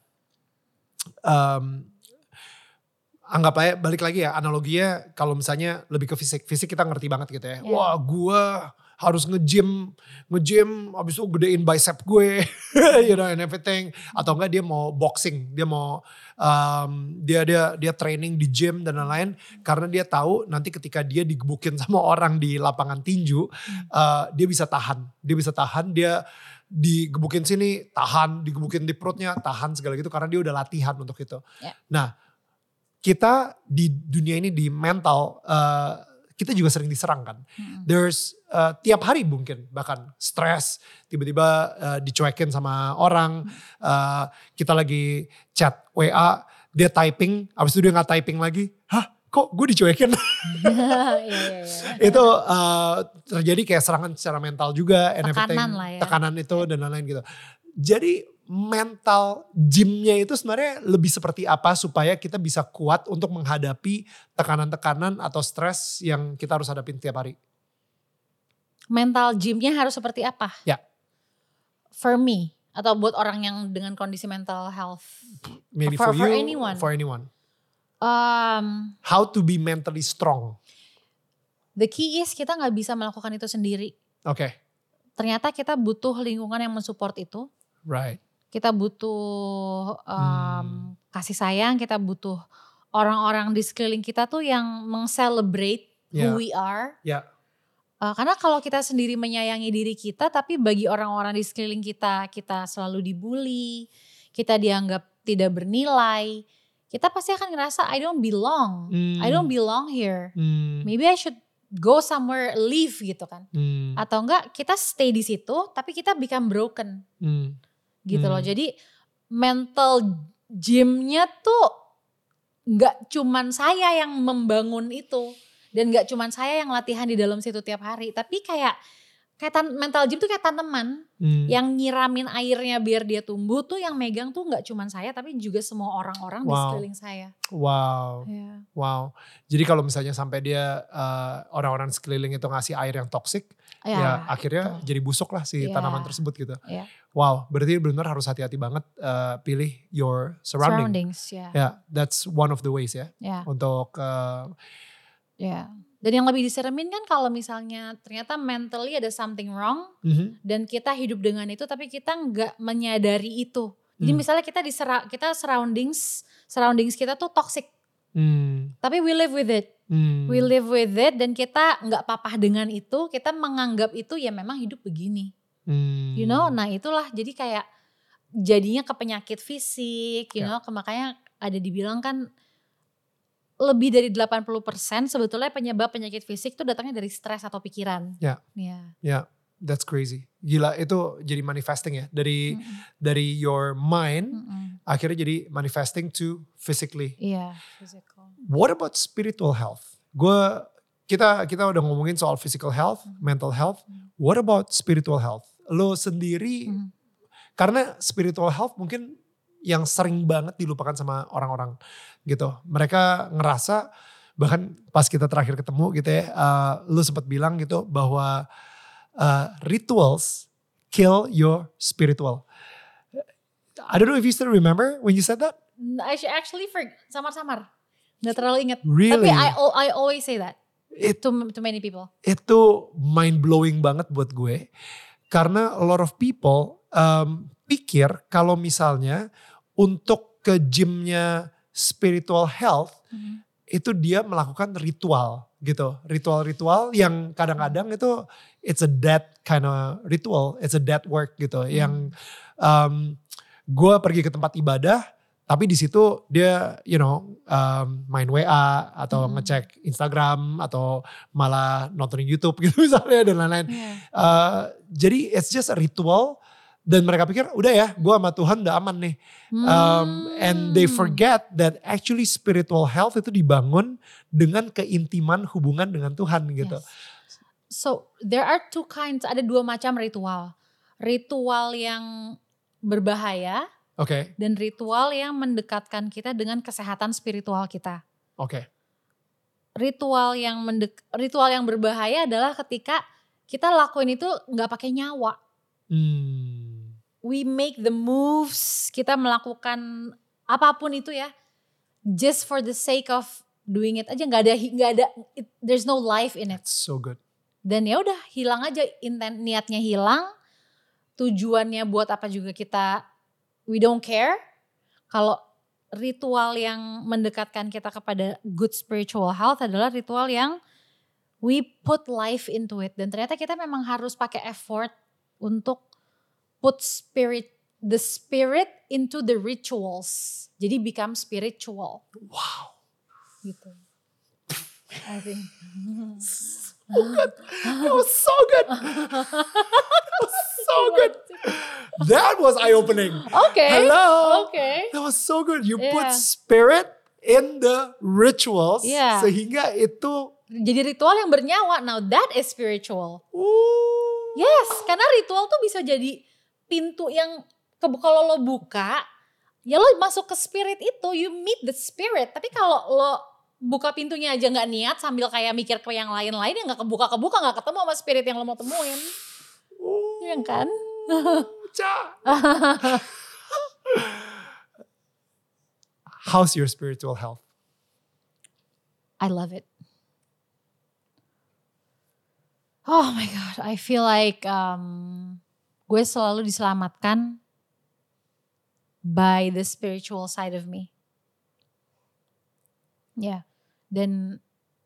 Speaker 1: um, anggap aja balik lagi ya analoginya kalau misalnya lebih ke fisik, fisik kita ngerti banget gitu ya. Yeah. Wah, gue harus nge-gym, nge-gym abis itu gedein bicep gue, you know and everything. Atau enggak dia mau boxing, dia mau um, dia dia dia training di gym dan lain-lain karena dia tahu nanti ketika dia digebukin sama orang di lapangan tinju, uh, dia bisa tahan, dia bisa tahan, dia digebukin sini tahan, digebukin di perutnya tahan segala gitu karena dia udah latihan untuk itu. Yeah. Nah kita di dunia ini di mental uh, kita juga sering diserang kan. Hmm. There's uh, tiap hari mungkin bahkan stres tiba-tiba uh, dicuekin sama orang. Hmm. Uh, kita lagi chat W A dia typing, abis itu dia nggak typing lagi. Hah? Kok gue dicuekin? yeah, yeah, yeah. Itu uh, terjadi kayak serangan secara mental juga.
Speaker 2: Tekanan lah ya.
Speaker 1: Tekanan itu dan lain-lain gitu. Jadi mental gymnya itu sebenarnya lebih seperti apa supaya kita bisa kuat untuk menghadapi tekanan-tekanan atau stres yang kita harus hadapin tiap hari?
Speaker 2: Mental gymnya harus seperti apa?
Speaker 1: Ya.
Speaker 2: For me, atau buat orang yang dengan kondisi mental health?
Speaker 1: Maybe
Speaker 2: for,
Speaker 1: for,
Speaker 2: for
Speaker 1: you,
Speaker 2: anyone.
Speaker 1: for anyone.
Speaker 2: Um,
Speaker 1: How to be mentally strong?
Speaker 2: The key is kita nggak bisa melakukan itu sendiri.
Speaker 1: Oke. Okay.
Speaker 2: Ternyata kita butuh lingkungan yang mensupport itu.
Speaker 1: Right.
Speaker 2: Kita butuh um,
Speaker 1: hmm.
Speaker 2: kasih sayang, kita butuh orang-orang di sekeliling kita tuh yang meng-celebrate
Speaker 1: yeah.
Speaker 2: who we are.
Speaker 1: Yeah.
Speaker 2: Uh, karena kalau kita sendiri menyayangi diri kita, tapi bagi orang-orang di sekeliling kita, kita selalu dibully, kita dianggap tidak bernilai, kita pasti akan ngerasa I don't belong,
Speaker 1: hmm.
Speaker 2: I don't belong here.
Speaker 1: Hmm.
Speaker 2: Maybe I should go somewhere, leave gitu kan.
Speaker 1: Hmm.
Speaker 2: Atau enggak kita stay di situ, tapi kita become broken.
Speaker 1: Hmm.
Speaker 2: Gitu
Speaker 1: hmm.
Speaker 2: loh. Jadi mental gymnya tuh gak cuman saya yang membangun itu. Dan gak cuman saya yang latihan di dalam situ tiap hari. Tapi kayak kayak tan- mental gym tuh kayak tanaman.
Speaker 1: Hmm.
Speaker 2: Yang nyiramin airnya biar dia tumbuh tuh yang megang tuh gak cuman saya. Tapi juga semua orang-orang wow. di sekeliling saya.
Speaker 1: Wow.
Speaker 2: Yeah.
Speaker 1: Wow. Jadi kalau misalnya sampai dia uh, orang-orang sekeliling itu ngasih air yang toksik. Ya, ya akhirnya betul. Jadi busuk lah si yeah. tanaman tersebut gitu.
Speaker 2: Yeah.
Speaker 1: Wow, berarti benar harus hati-hati banget uh, pilih your surrounding.
Speaker 2: Surroundings, ya. Yeah.
Speaker 1: Yeah, that's one of the ways ya.
Speaker 2: Yeah.
Speaker 1: Untuk uh,
Speaker 2: ya. Yeah. Dan yang lebih diseremin kan kalau misalnya ternyata mentally ada something wrong
Speaker 1: mm-hmm.
Speaker 2: dan kita hidup dengan itu tapi kita nggak menyadari itu. Jadi mm. misalnya kita di kita surroundings surroundings kita tuh toxic.
Speaker 1: Mm.
Speaker 2: Tapi we live with it.
Speaker 1: Mm.
Speaker 2: We live with it dan kita nggak papah dengan itu, kita menganggap itu ya memang hidup begini.
Speaker 1: Mm.
Speaker 2: You know, nah itulah jadi kayak jadinya ke penyakit fisik, you yeah. know, makanya ada dibilang kan lebih dari delapan puluh persen sebetulnya penyebab penyakit fisik itu datangnya dari stres atau pikiran.
Speaker 1: Ya.
Speaker 2: Yeah.
Speaker 1: Ya. Yeah. That's crazy. Gila itu jadi manifesting ya dari mm-hmm. dari your mind mm-hmm. akhirnya jadi manifesting to physically.
Speaker 2: Iya, yeah, physical.
Speaker 1: What about spiritual health? Gue kita kita udah ngomongin soal physical health, mm-hmm. mental health. Mm-hmm. What about spiritual health? Lo sendiri mm-hmm. karena spiritual health mungkin yang sering banget dilupakan sama orang-orang gitu. Mereka ngerasa bahkan pas kita terakhir ketemu gitu ya, uh, lu sempat bilang gitu bahwa Uh, rituals kill your spiritual. I don't know if you still remember when you said that.
Speaker 2: I actually for samar-samar, nggak terlalu ingat.
Speaker 1: Really?
Speaker 2: Tapi I I always say that
Speaker 1: It,
Speaker 2: to to many people.
Speaker 1: Itu mind blowing banget buat gue karena a lot of people um, pikir kalau misalnya untuk ke gymnya spiritual health mm-hmm. itu dia melakukan ritual gitu, ritual-ritual yang kadang-kadang itu it's a dead kind of ritual, it's a dead work gitu. Hmm. Yang um, gue pergi ke tempat ibadah, tapi di situ dia you know um, main W A atau hmm. ngecek Instagram atau malah nontonin YouTube gitu misalnya dan lain-lain. Yeah. Uh, jadi it's just a ritual. Dan mereka pikir udah ya gue sama Tuhan udah aman nih. Hmm. Um, and they forget that actually spiritual health itu dibangun dengan keintiman hubungan dengan Tuhan gitu.
Speaker 2: Yes. So there are two kinds, ada dua macam ritual. Ritual yang berbahaya
Speaker 1: okay.
Speaker 2: dan ritual yang mendekatkan kita dengan kesehatan spiritual kita.
Speaker 1: Oke. Okay.
Speaker 2: Ritual yang mendek, ritual yang berbahaya adalah ketika kita lakuin itu gak pakai nyawa.
Speaker 1: Hmm.
Speaker 2: We make the moves, kita melakukan apapun itu ya, just for the sake of doing it aja, nggak ada nggak ada, it, there's no life in it.
Speaker 1: That's so good.
Speaker 2: Dan ya udah hilang aja, intent niatnya hilang, tujuannya buat apa juga kita, we don't care. Kalau ritual yang mendekatkan kita kepada good spiritual health adalah ritual yang we put life into it, dan ternyata kita memang harus pakai effort untuk put spirit, the spirit into the rituals. Jadi become spiritual.
Speaker 1: Wow.
Speaker 2: Gitu. I think.
Speaker 1: So good. That was so good. That was so good. That was eye-opening.
Speaker 2: Okay.
Speaker 1: Hello.
Speaker 2: Okay.
Speaker 1: That was so good. You
Speaker 2: yeah.
Speaker 1: put spirit in the rituals.
Speaker 2: Yeah.
Speaker 1: Sehingga itu.
Speaker 2: Jadi ritual yang bernyawa. Now that is spiritual.
Speaker 1: Ooh.
Speaker 2: Yes. Karena ritual tuh bisa jadi pintu yang kalau lo buka, ya lo masuk ke spirit itu, you meet the spirit. Tapi kalau lo buka pintunya aja nggak niat sambil kayak mikir ke yang lain-lain, ya nggak kebuka-kebuka, nggak ketemu sama spirit yang lo mau temuin. Iya
Speaker 1: Oh,
Speaker 2: kan?
Speaker 1: Ca. How's your spiritual health?
Speaker 2: I love it. Oh my God, I feel like um, gue selalu diselamatkan by the spiritual side of me. Ya, yeah. Dan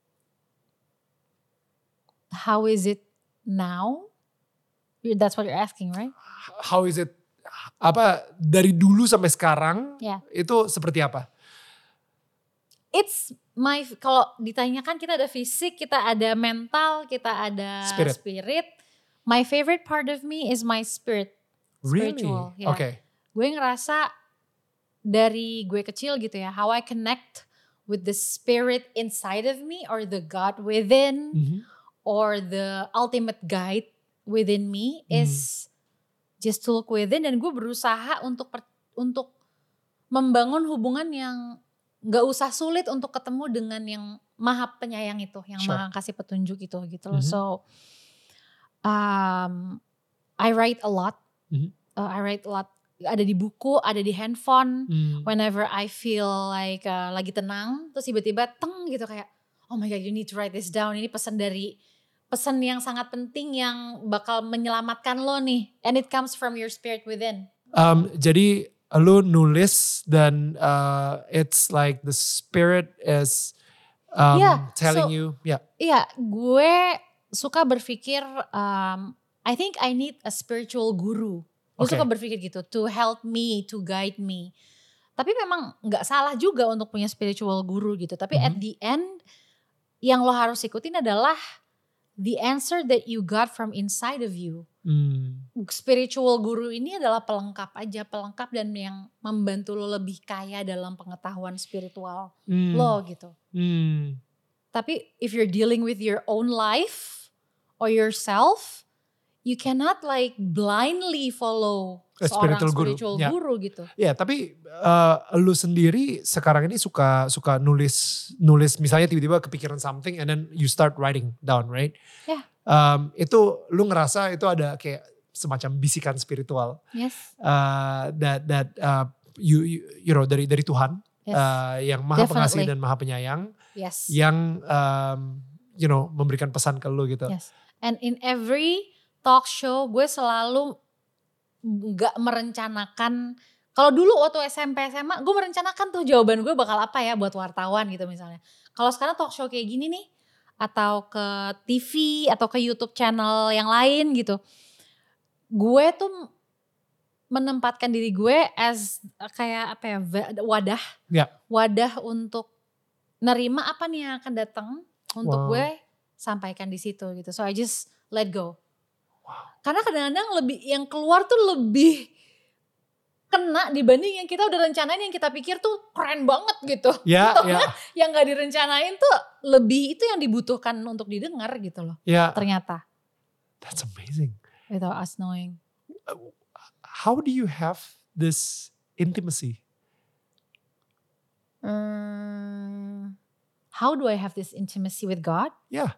Speaker 2: how is it now? That's what you're asking, right?
Speaker 1: How is it? Apa dari dulu sampai sekarang?
Speaker 2: Yeah.
Speaker 1: Itu seperti apa?
Speaker 2: It's my, kalau ditanyakan kita ada fisik, kita ada mental, kita ada
Speaker 1: spirit.
Speaker 2: spirit. My favorite part of me is my spirit. Spiritual.
Speaker 1: Really?
Speaker 2: Yeah.
Speaker 1: Okay.
Speaker 2: Gue ngerasa dari gue kecil gitu ya, how I connect with the spirit inside of me or the God within
Speaker 1: Mm-hmm.
Speaker 2: or the ultimate guide within me mm. is just to look within, dan gue berusaha untuk per, untuk membangun hubungan yang gak usah sulit untuk ketemu dengan yang maha penyayang itu, yang sure. maha kasih petunjuk itu gitu loh. Mm-hmm. So um, I write a lot, mm-hmm. uh, I write a lot. Ada di buku, ada di handphone. Mm. Whenever I feel like uh, lagi tenang, terus tiba-tiba teng gitu kayak, oh my God, you need to write this down. Ini pesan dari pesan yang sangat penting yang bakal menyelamatkan lo nih. And it comes from your spirit within.
Speaker 1: Um, jadi lo nulis dan uh, it's like the spirit is um, yeah, telling so, you. Yeah.
Speaker 2: Iya, gue suka berpikir, um, I think I need a spiritual guru. Gue okay. suka berpikir gitu, to help me, to guide me. Tapi memang gak salah juga untuk punya spiritual guru gitu. Tapi mm-hmm. at the end, yang lo harus ikutin adalah the answer that you got from inside of you. Mm. Spiritual guru ini adalah pelengkap aja, pelengkap dan yang membantu lo lebih kaya dalam pengetahuan spiritual mm. lo gitu. Mm. Tapi if you're dealing with your own life or yourself, you cannot like blindly follow
Speaker 1: A
Speaker 2: seorang
Speaker 1: spiritual,
Speaker 2: spiritual
Speaker 1: guru,
Speaker 2: guru
Speaker 1: ya.
Speaker 2: gitu.
Speaker 1: Ya, tapi uh, lu sendiri sekarang ini suka suka nulis nulis misalnya tiba-tiba kepikiran something and then you start writing down, right?
Speaker 2: Ya. Yeah.
Speaker 1: Um, itu lu ngerasa itu ada kayak semacam bisikan spiritual.
Speaker 2: Yes.
Speaker 1: Uh, that that uh, you, you you know dari dari Tuhan yes. uh, yang Maha Pengasih dan Maha Penyayang.
Speaker 2: Yes.
Speaker 1: Yang um, you know memberikan pesan ke lu gitu.
Speaker 2: Yes. And in every talk show gue selalu gak merencanakan. Kalau dulu waktu S M P S M A gue merencanakan tuh jawaban gue bakal apa ya buat wartawan gitu misalnya. Kalau sekarang talk show kayak gini nih, atau ke T V atau ke YouTube channel yang lain gitu, gue tuh menempatkan diri gue as kayak apa ya, wadah
Speaker 1: yeah.
Speaker 2: wadah untuk nerima apa nih yang akan datang untuk wow. gue sampaikan di situ gitu. So I just let go. Wow. Karena kadang-kadang lebih yang keluar tuh lebih kena dibanding yang kita udah rencanain, yang kita pikir tuh keren banget gitu.
Speaker 1: Yeah, yeah.
Speaker 2: Yang gak direncanain tuh lebih itu yang dibutuhkan untuk didengar gitu loh.
Speaker 1: Yeah.
Speaker 2: Ternyata.
Speaker 1: That's amazing.
Speaker 2: Without us knowing.
Speaker 1: How do you have this intimacy?
Speaker 2: Um, how do I have this intimacy with God?
Speaker 1: Yeah.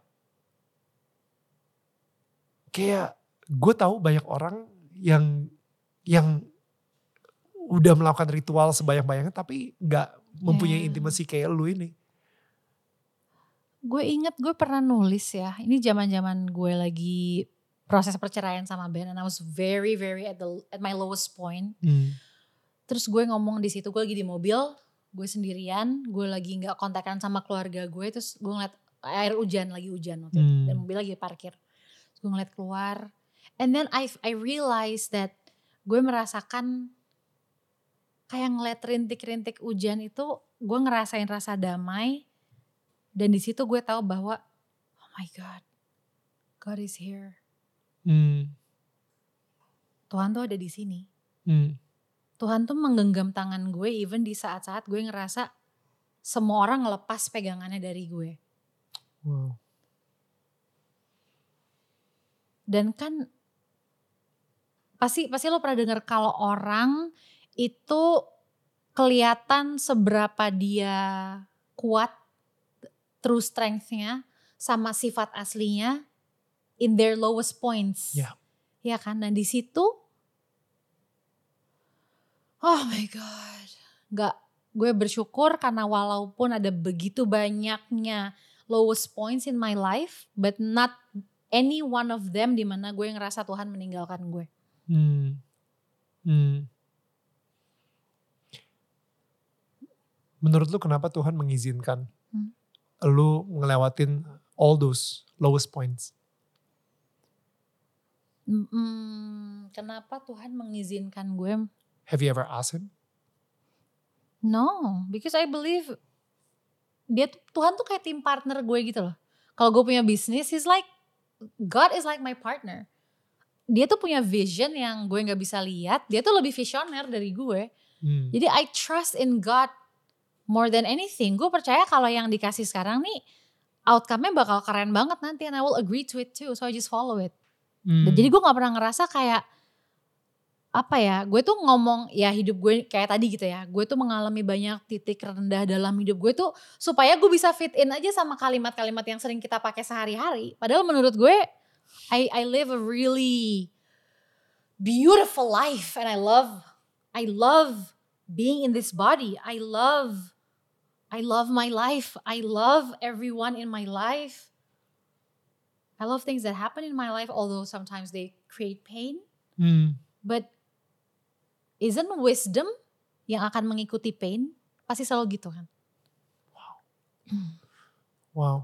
Speaker 1: Kayak gue tahu banyak orang yang yang udah melakukan ritual sebanyak-banyaknya tapi gak mempunyai yeah. intimasi kayak lu ini.
Speaker 2: Gue inget gue pernah nulis ya, ini zaman-zaman gue lagi proses perceraian sama Ben, and I was very very at the at my lowest point. Hmm. Terus gue ngomong di situ, gue lagi di mobil, gue sendirian, gue lagi nggak kontakan sama keluarga gue, terus gue ngeliat air hujan, lagi hujan waktu itu, hmm. dan mobil lagi parkir. Terus gue ngeliat keluar, and then I I realized that gue merasakan kayak ngeliat rintik-rintik hujan itu, gue ngerasain rasa damai, dan di situ gue tahu bahwa oh my God, God is here. Hmm. Tuhan tuh ada di sini. Hmm. Tuhan tuh menggenggam tangan gue even di saat-saat gue ngerasa semua orang ngelepas pegangannya dari gue. Wow. Dan kan pasti pasti lo pernah dengar kalau orang itu kelihatan seberapa dia kuat, true strength-nya sama sifat aslinya in their lowest points.
Speaker 1: Yeah.
Speaker 2: Ya kan? Dan di situ, oh my God, nggak, gue bersyukur karena walaupun ada begitu banyaknya lowest points in my life, but not any one of them di mana gue ngerasa Tuhan meninggalkan gue.
Speaker 1: Hmm. Hmm. Menurut lu kenapa Tuhan mengizinkan hmm. lu ngelewatin all those lowest points?
Speaker 2: Hmm, kenapa Tuhan mengizinkan gue?
Speaker 1: Have you ever asked him?
Speaker 2: No, because I believe dia Tuhan tuh kayak tim partner gue gitu loh. Kalau gue punya bisnis, he's like, God is like my partner. Dia tuh punya vision yang gue gak bisa lihat. Dia tuh lebih visioner dari gue. Hmm. Jadi I trust in God more than anything. Gue percaya kalau yang dikasih sekarang nih, outcome-nya bakal keren banget nanti. And I will agree to it too. So I just follow it. Hmm. Jadi gue gak pernah ngerasa kayak, apa ya, gue tuh ngomong, ya hidup gue kayak tadi gitu ya. Gue tuh mengalami banyak titik rendah dalam hidup gue tuh, supaya gue bisa fit in aja sama kalimat-kalimat yang sering kita pakai sehari-hari. Padahal menurut gue, I, I live a really beautiful life. And I love, I love being in this body. I love, I love my life. I love everyone in my life. I love things that happen in my life, although sometimes they create pain. Hmm. But isn't wisdom yang akan mengikuti pain? Pasti selalu gitu kan?
Speaker 1: Wow. Wow.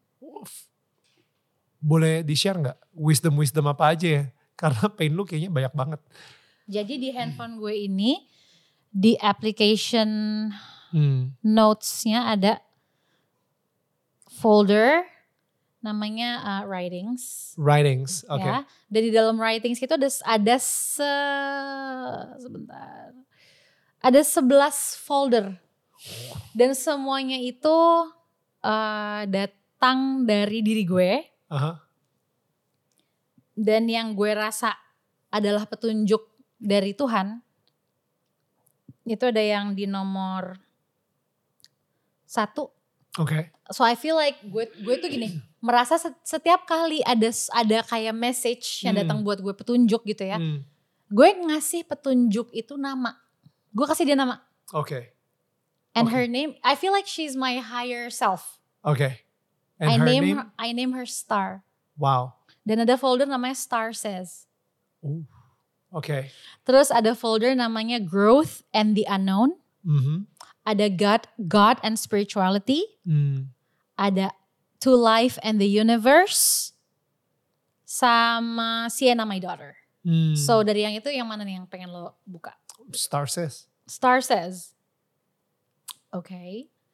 Speaker 1: Boleh di-share gak wisdom-wisdom apa aja ya? Karena pain lu kayaknya banyak banget.
Speaker 2: Jadi di handphone gue ini, di application hmm. notes-nya ada folder namanya uh, writings.
Speaker 1: Writings, oke. Okay.
Speaker 2: Ya, dan di dalam writings itu ada ada se sebentar. Ada sebelas folder. Dan semuanya itu uh, datang dari diri gue. Uh-huh. Dan yang gue rasa adalah petunjuk dari Tuhan. Itu ada yang di nomor satu.
Speaker 1: Oke. Okay.
Speaker 2: So I feel like gue gue tuh gini, merasa setiap kali ada ada kayak message yang datang hmm. buat gue petunjuk gitu ya. Hmm. Gue ngasih petunjuk itu nama. Gue kasih dia nama.
Speaker 1: Oke. Okay.
Speaker 2: And
Speaker 1: okay.
Speaker 2: her name, I feel like she's my higher self.
Speaker 1: Oke. Okay. And
Speaker 2: I
Speaker 1: her
Speaker 2: name
Speaker 1: name?
Speaker 2: her, I name her Star.
Speaker 1: Wow.
Speaker 2: Dan ada folder namanya Star Says.
Speaker 1: Ooh. Oke. Okay.
Speaker 2: Terus ada folder namanya Growth and the Unknown. Mm-hmm. Ada God, God and Spirituality. Mm. Ada To Life and the Universe. Sama Sienna My Daughter. Mm. So dari yang itu yang mana nih yang pengen lo buka?
Speaker 1: Star Says.
Speaker 2: Star Says. Oke. Okay.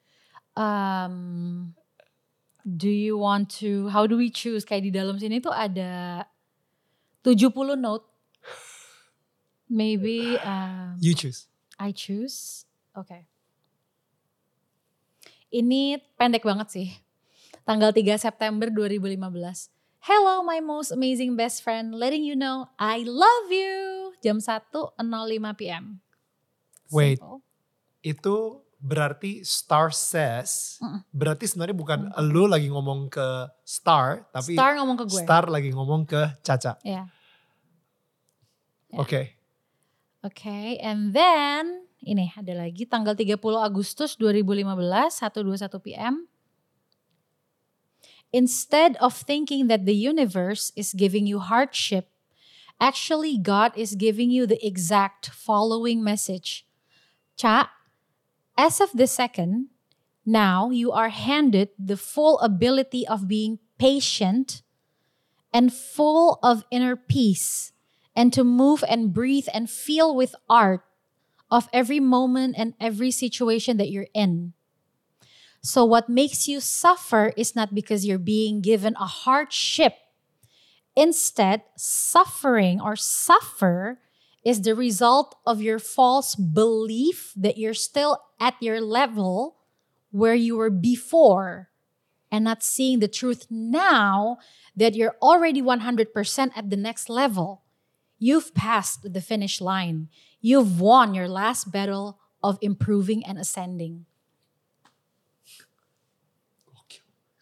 Speaker 2: Um, do you want to, how do we choose? Kayak di dalam sini tuh ada tujuh puluh note. Maybe. Um,
Speaker 1: you choose.
Speaker 2: I choose. Oke. Okay. Ini pendek banget sih. Tanggal tiga September dua ribu lima belas. Hello my most amazing best friend. Letting you know I love you. Jam satu nol lima p m
Speaker 1: Wait. Itu berarti Star Says. Mm-mm. Berarti sebenarnya bukan mm-mm. lu lagi ngomong ke Star. Tapi
Speaker 2: Star ngomong ke gue.
Speaker 1: Star lagi ngomong ke Caca.
Speaker 2: Iya. Yeah.
Speaker 1: Yeah. Oke. Okay.
Speaker 2: Oke. Okay. And then. Ini ada lagi tanggal tiga puluh Agustus dua ribu lima belas, satu dua puluh satu p m Instead of thinking that the universe is giving you hardship, actually God is giving you the exact following message. Ca, as of the second, now you are handed the full ability of being patient and full of inner peace, and to move and breathe and feel with art of every moment and every situation that you're in. So what makes you suffer is not because you're being given a hardship. Instead, suffering or suffer is the result of your false belief that you're still at your level where you were before, and not seeing the truth now that you're already one hundred percent at the next level. You've passed the finish line. You've won your last battle of improving and ascending.
Speaker 1: Gokil.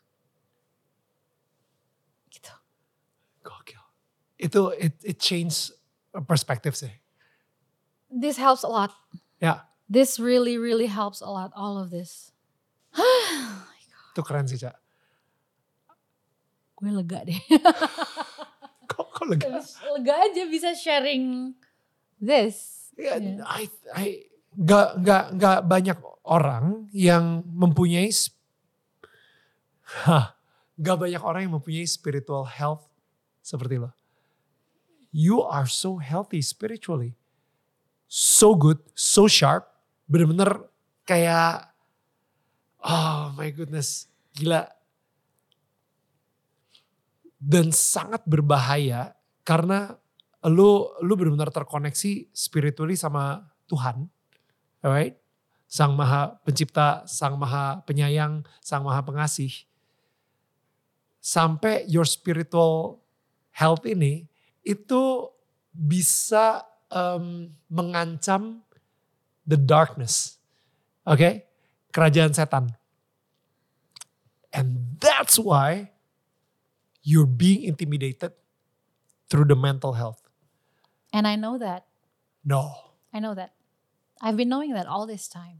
Speaker 2: Gitu.
Speaker 1: Gokil. Itu it, it change perspective sih.
Speaker 2: This helps a lot.
Speaker 1: Ya,
Speaker 2: This really, really helps a lot. All of this.
Speaker 1: itu keren sih, Cak.
Speaker 2: Gue lega deh.
Speaker 1: Kok, kok lega?
Speaker 2: Lega aja bisa sharing this.
Speaker 1: Ya,
Speaker 2: Yeah.
Speaker 1: I, I, gak, gak, gak banyak orang yang mempunyai, sp- Hah, gak banyak orang yang mempunyai spiritual health seperti lo. You are so healthy spiritually. So good, so sharp. Bener-bener kayak, oh my goodness, gila. Dan sangat berbahaya karena lu lu benar-benar terkoneksi spiritually sama Tuhan, alright? Sang Maha Pencipta, Sang Maha Penyayang, Sang Maha Pengasih. Sampai your spiritual health ini itu bisa um, mengancam the darkness, oke? Okay? Kerajaan setan. And that's why you're being intimidated through the mental health.
Speaker 2: And I know that.
Speaker 1: No.
Speaker 2: I know that. I've been knowing that all this time.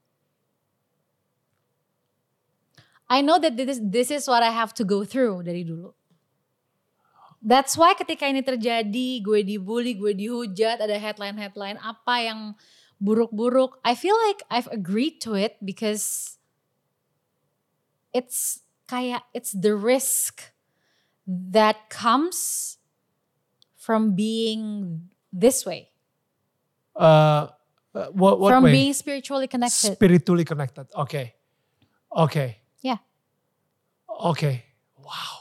Speaker 2: I know that this, this is what I have to go through dari dulu. That's why ketika ini terjadi, gue dibully, gue dihujat, ada headline-headline apa yang buruk-buruk. I feel like I've agreed to it because it's kayak, it's the risk that comes from being this way.
Speaker 1: Uh, uh, what what
Speaker 2: from
Speaker 1: way?
Speaker 2: being spiritually connected.
Speaker 1: Spiritually connected. Okay. Okay.
Speaker 2: Yeah.
Speaker 1: Okay. Wow.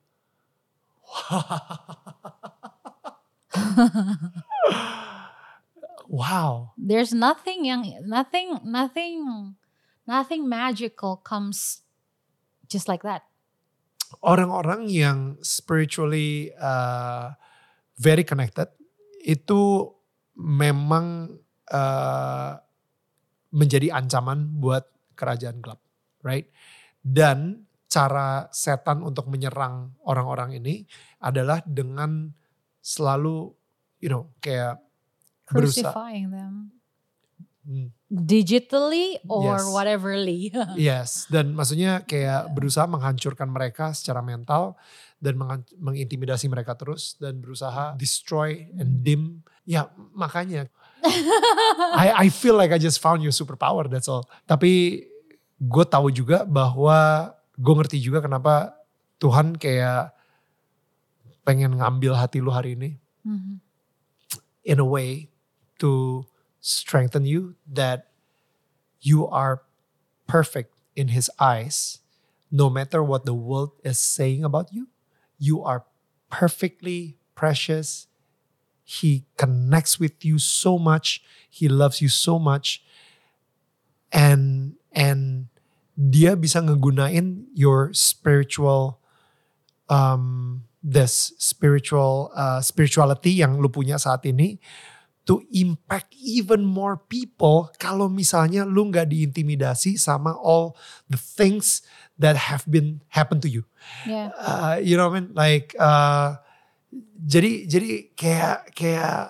Speaker 1: Wow.
Speaker 2: There's nothing yang nothing nothing nothing magical comes just like that.
Speaker 1: Orang-orang yang spiritually uh, very connected itu memang uh, menjadi ancaman buat kerajaan gelap, right? Dan cara setan untuk menyerang orang-orang ini adalah dengan selalu, you know, kayak berusaha.
Speaker 2: Crucifying them.
Speaker 1: Hmm.
Speaker 2: Digitally or
Speaker 1: Yes.
Speaker 2: whateverly.
Speaker 1: Yes, dan maksudnya kayak berusaha menghancurkan mereka secara mental dan menghan- mengintimidasi mereka terus dan berusaha destroy and dim. Ya makanya I I feel like I just found your superpower, that's all. Tapi gue tahu juga bahwa gue ngerti juga kenapa Tuhan kayak pengen ngambil hati lu hari ini
Speaker 2: Mhm.
Speaker 1: in a way to strengthen you that you are perfect in his eyes. No matter what the world is saying about you, you are perfectly precious. He connects with you so much. He loves you so much. And and dia bisa ngegunain your spiritual um this spiritual uh, spirituality yang lu punya saat ini to impact even more people kalau misalnya lu nggak diintimidasi sama all the things that have been happen to you.
Speaker 2: Yeah.
Speaker 1: Uh, you know what I mean? Like uh, jadi jadi kayak kayak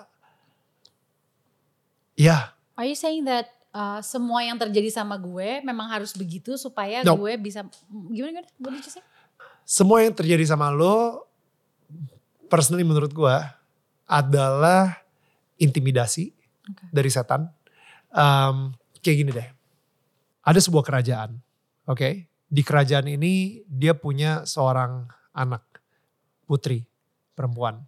Speaker 1: ya. Yeah.
Speaker 2: Are you saying that uh, semua yang terjadi sama gue memang harus begitu supaya
Speaker 1: No.
Speaker 2: gue bisa gimana gimana? What did you say?
Speaker 1: Semua yang terjadi sama lo, personally menurut gue adalah intimidasi
Speaker 2: Okay.
Speaker 1: dari setan. Um, kayak gini deh, ada sebuah kerajaan, oke? Okay? Di kerajaan ini dia punya seorang anak, putri, perempuan.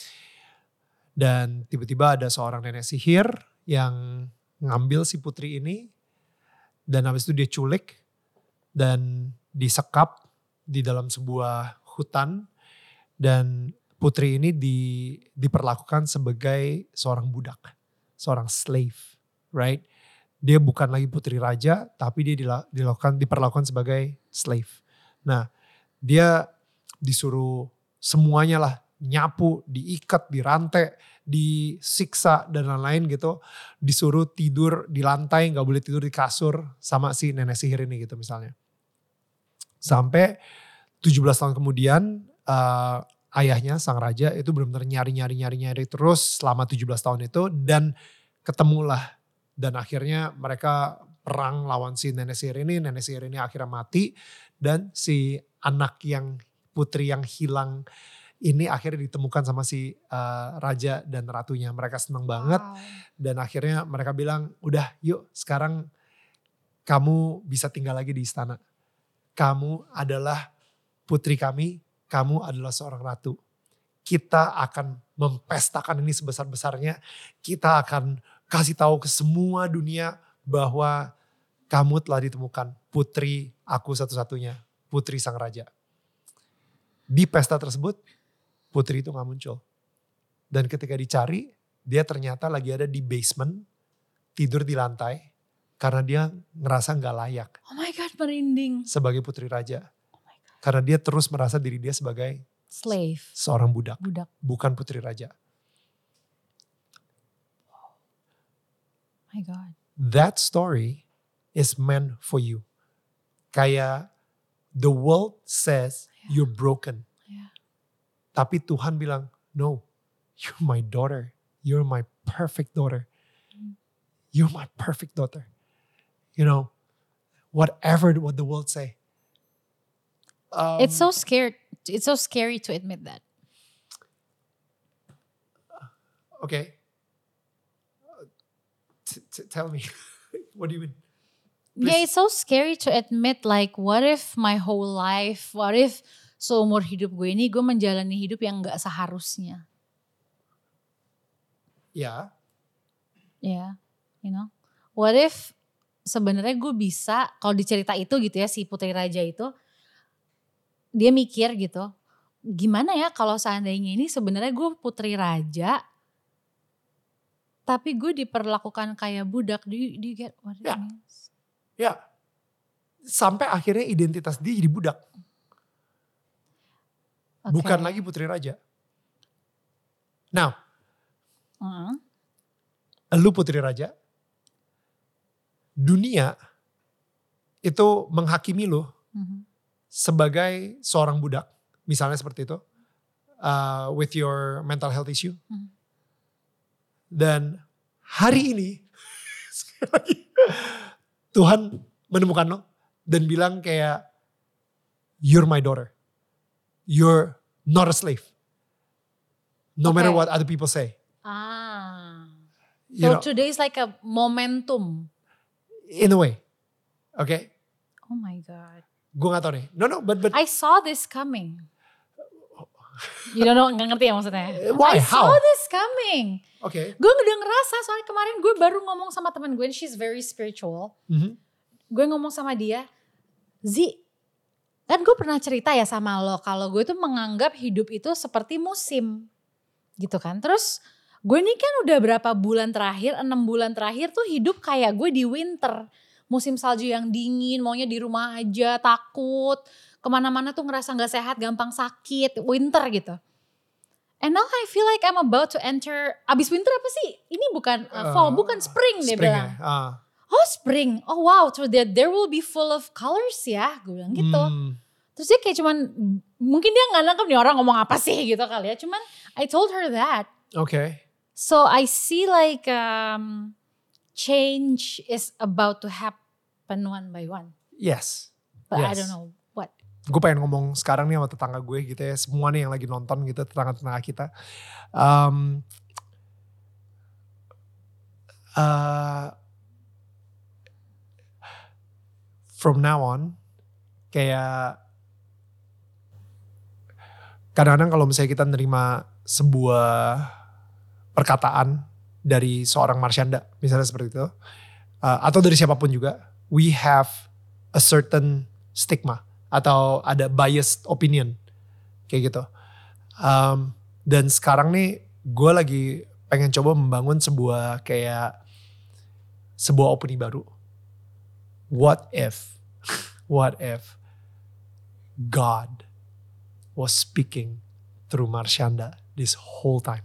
Speaker 1: Dan tiba-tiba ada seorang nenek sihir yang ngambil si putri ini. Dan habis itu dia culik dan disekap di dalam sebuah hutan. Dan putri ini di, diperlakukan sebagai seorang budak, seorang slave, right? Dia bukan lagi putri raja, tapi dia dilakukan, diperlakukan sebagai slave. Nah, dia disuruh semuanya lah nyapu, diikat, dirantai, disiksa dan lain-lain gitu. Disuruh tidur di lantai, gak boleh tidur di kasur sama si nenek sihir ini gitu misalnya. Sampai tujuh belas tahun kemudian uh, ayahnya sang raja itu benar-benar nyari-nyari-nyari-nyari terus selama tujuh belas tahun itu. Dan ketemulah. Dan akhirnya mereka perang lawan si nenek sihir ini. Nenek sihir ini akhirnya mati. Dan si anak yang putri yang hilang ini akhirnya ditemukan sama si uh, raja dan ratunya. Mereka senang banget.
Speaker 2: Wow.
Speaker 1: Dan akhirnya mereka bilang, udah yuk sekarang kamu bisa tinggal lagi di istana. Kamu adalah putri kami, kamu adalah seorang ratu. Kita akan mempestakan ini sebesar-besarnya. Kita akan kasih tahu ke semua dunia bahwa kamu telah ditemukan putri aku satu-satunya, putri sang raja. Di pesta tersebut, putri itu gak muncul. Dan ketika dicari, dia ternyata lagi ada di basement, tidur di lantai, karena dia ngerasa gak layak.
Speaker 2: Oh my God, merinding.
Speaker 1: Sebagai putri raja.
Speaker 2: Oh my God.
Speaker 1: Karena dia terus merasa diri dia sebagai
Speaker 2: slave.
Speaker 1: Seorang budak.
Speaker 2: Budak.
Speaker 1: Bukan putri raja.
Speaker 2: Oh my God.
Speaker 1: That story is meant for you. Kayak the world says yeah. you're broken.
Speaker 2: Yeah.
Speaker 1: Tapi Tuhan bilang, no, you're my daughter. You're my perfect daughter. Mm. You're my perfect daughter. You know, whatever what the world say. Um,
Speaker 2: it's so scared. It's so scary to admit that.
Speaker 1: Okay. T- t- tell me, what do you mean? Please.
Speaker 2: Yeah, it's so scary to admit like what if my whole life, what if seumur hidup gue ini gue menjalani hidup yang gak seharusnya.
Speaker 1: Ya.
Speaker 2: Yeah. Ya, yeah, you know. What if sebenarnya gue bisa, kalau di cerita itu gitu ya, si putri raja itu, dia mikir gitu, gimana ya kalau seandainya ini sebenarnya gue putri raja, tapi gue diperlakukan kayak budak. Do you, do you get what it
Speaker 1: ya.
Speaker 2: means?
Speaker 1: Ya, sampai akhirnya identitas dia jadi budak. Okay. Bukan lagi putri raja. Now,
Speaker 2: uh-huh.
Speaker 1: lu putri raja, dunia itu menghakimi lu uh-huh. sebagai seorang budak. Misalnya seperti itu, uh, with your mental health issue. Uh-huh. Dan hari ini, sekali lagi, Tuhan menemukan lo dan bilang kayak, you're my daughter. You're not a slave. No okay. matter what other people say.
Speaker 2: Ah.
Speaker 1: You
Speaker 2: so
Speaker 1: know,
Speaker 2: today is like a momentum.
Speaker 1: In a way. Okay.
Speaker 2: Oh my God.
Speaker 1: Gue gak tau nih. No, no, but, but.
Speaker 2: I saw this coming. You don't know, gak ngerti ya maksudnya?
Speaker 1: Why?
Speaker 2: I
Speaker 1: How?
Speaker 2: saw this coming.
Speaker 1: Oke. Okay.
Speaker 2: Gue udah ngerasa, soalnya kemarin gue baru ngomong sama teman gue, and she's very spiritual.
Speaker 1: Mm-hmm.
Speaker 2: Gue ngomong sama dia, Zi, kan gue pernah cerita ya sama lo, kalau gue tuh menganggap hidup itu seperti musim. Gitu kan. Terus gue ini kan udah berapa bulan terakhir, enam bulan terakhir tuh hidup kayak gue di winter. Musim salju yang dingin, maunya di rumah aja, takut. Kemana-mana tuh ngerasa gak sehat, gampang sakit, winter gitu. And now I feel like I'm about to enter, abis winter apa sih? Ini bukan uh, fall, uh, bukan spring dia
Speaker 1: spring
Speaker 2: bilang.
Speaker 1: Ya? Uh.
Speaker 2: Oh spring, oh wow, so that there will be full of colors ya, gue bilang gitu. Hmm. Terus dia kayak cuman, mungkin dia gak nangkep nih orang ngomong apa sih gitu kali ya. Cuman I told her that.
Speaker 1: Okay.
Speaker 2: So I see like um, change is about to happen one by one.
Speaker 1: Yes.
Speaker 2: But
Speaker 1: yes.
Speaker 2: I don't know what.
Speaker 1: Gue pengen ngomong sekarang nih sama tetangga gue gitu ya. Semua nih yang lagi nonton gitu, tetangga-tetangga kita. Um, uh, from now on, kayak kadang-kadang kalau misalnya kita nerima sebuah perkataan dari seorang Marsyanda, misalnya seperti itu, uh, atau dari siapapun juga, we have a certain stigma atau ada biased opinion kayak gitu. Um, dan sekarang nih gue lagi pengen coba membangun sebuah kayak sebuah opini baru. What if, what if God was speaking through Marshanda this whole time.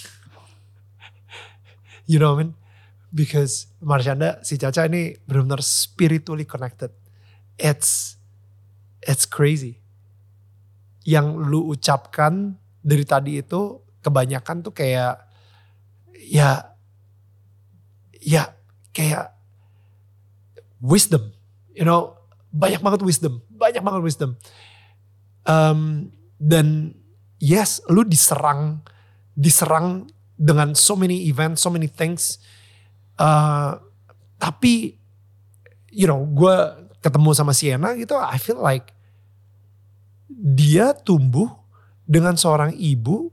Speaker 1: You know what I mean? Because Marshanda, si Caca ini benar-benar spiritually connected. It's it's crazy. Yang lu ucapkan dari tadi itu kebanyakan tuh kayak ya ya kayak wisdom, you know, banyak banget wisdom, banyak banget wisdom. Um, dan yes, lu diserang, diserang dengan so many events, so many things. Uh, tapi, you know, gue ketemu sama Sienna gitu, I feel like dia tumbuh dengan seorang ibu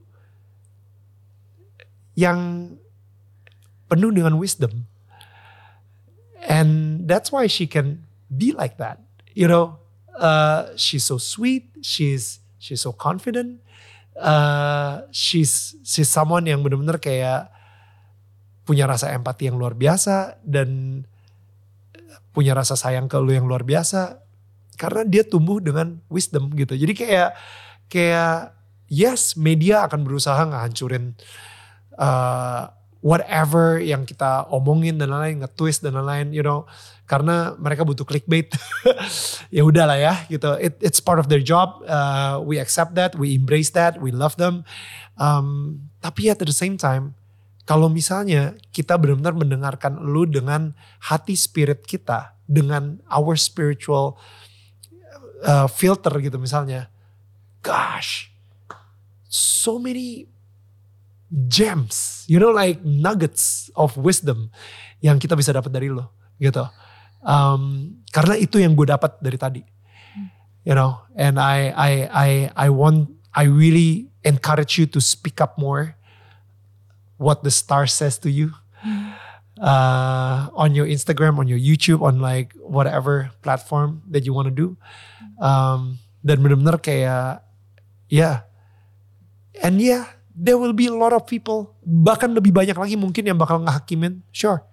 Speaker 1: yang penuh dengan wisdom. And that's why she can be like that. You know, uh, she's so sweet, she's she's so confident. Uh, she's she's someone yang benar-benar kayak punya rasa empati yang luar biasa dan punya rasa sayang ke lu yang luar biasa karena dia tumbuh dengan wisdom gitu. Jadi kayak kayak yes, media akan berusaha ngehancurin uh, whatever yang kita omongin dan lain-lain, nge-twist dan lain-lain, you know, karena mereka butuh clickbait. Ya udahlah ya, gitu. It, it's part of their job. Uh, we accept that, we embrace that, we love them. Um, tapi at the same time, kalau misalnya kita benar-benar mendengarkan lu dengan hati spirit kita, dengan our spiritual uh, filter gitu misalnya, gosh, so many gems, you know, like nuggets of wisdom yang kita bisa dapat dari lo, gitu. Um, karena itu yang gue dapat dari tadi, you know. And I, I, I, I want, I really encourage you to speak up more. What the star says to you, uh, on your Instagram, on your YouTube, on like whatever platform that you want to do. Um, dan benar-benar kayak, yeah, and yeah. There will be a lot of people, bahkan lebih banyak lagi mungkin yang bakal ngehakimin, sure.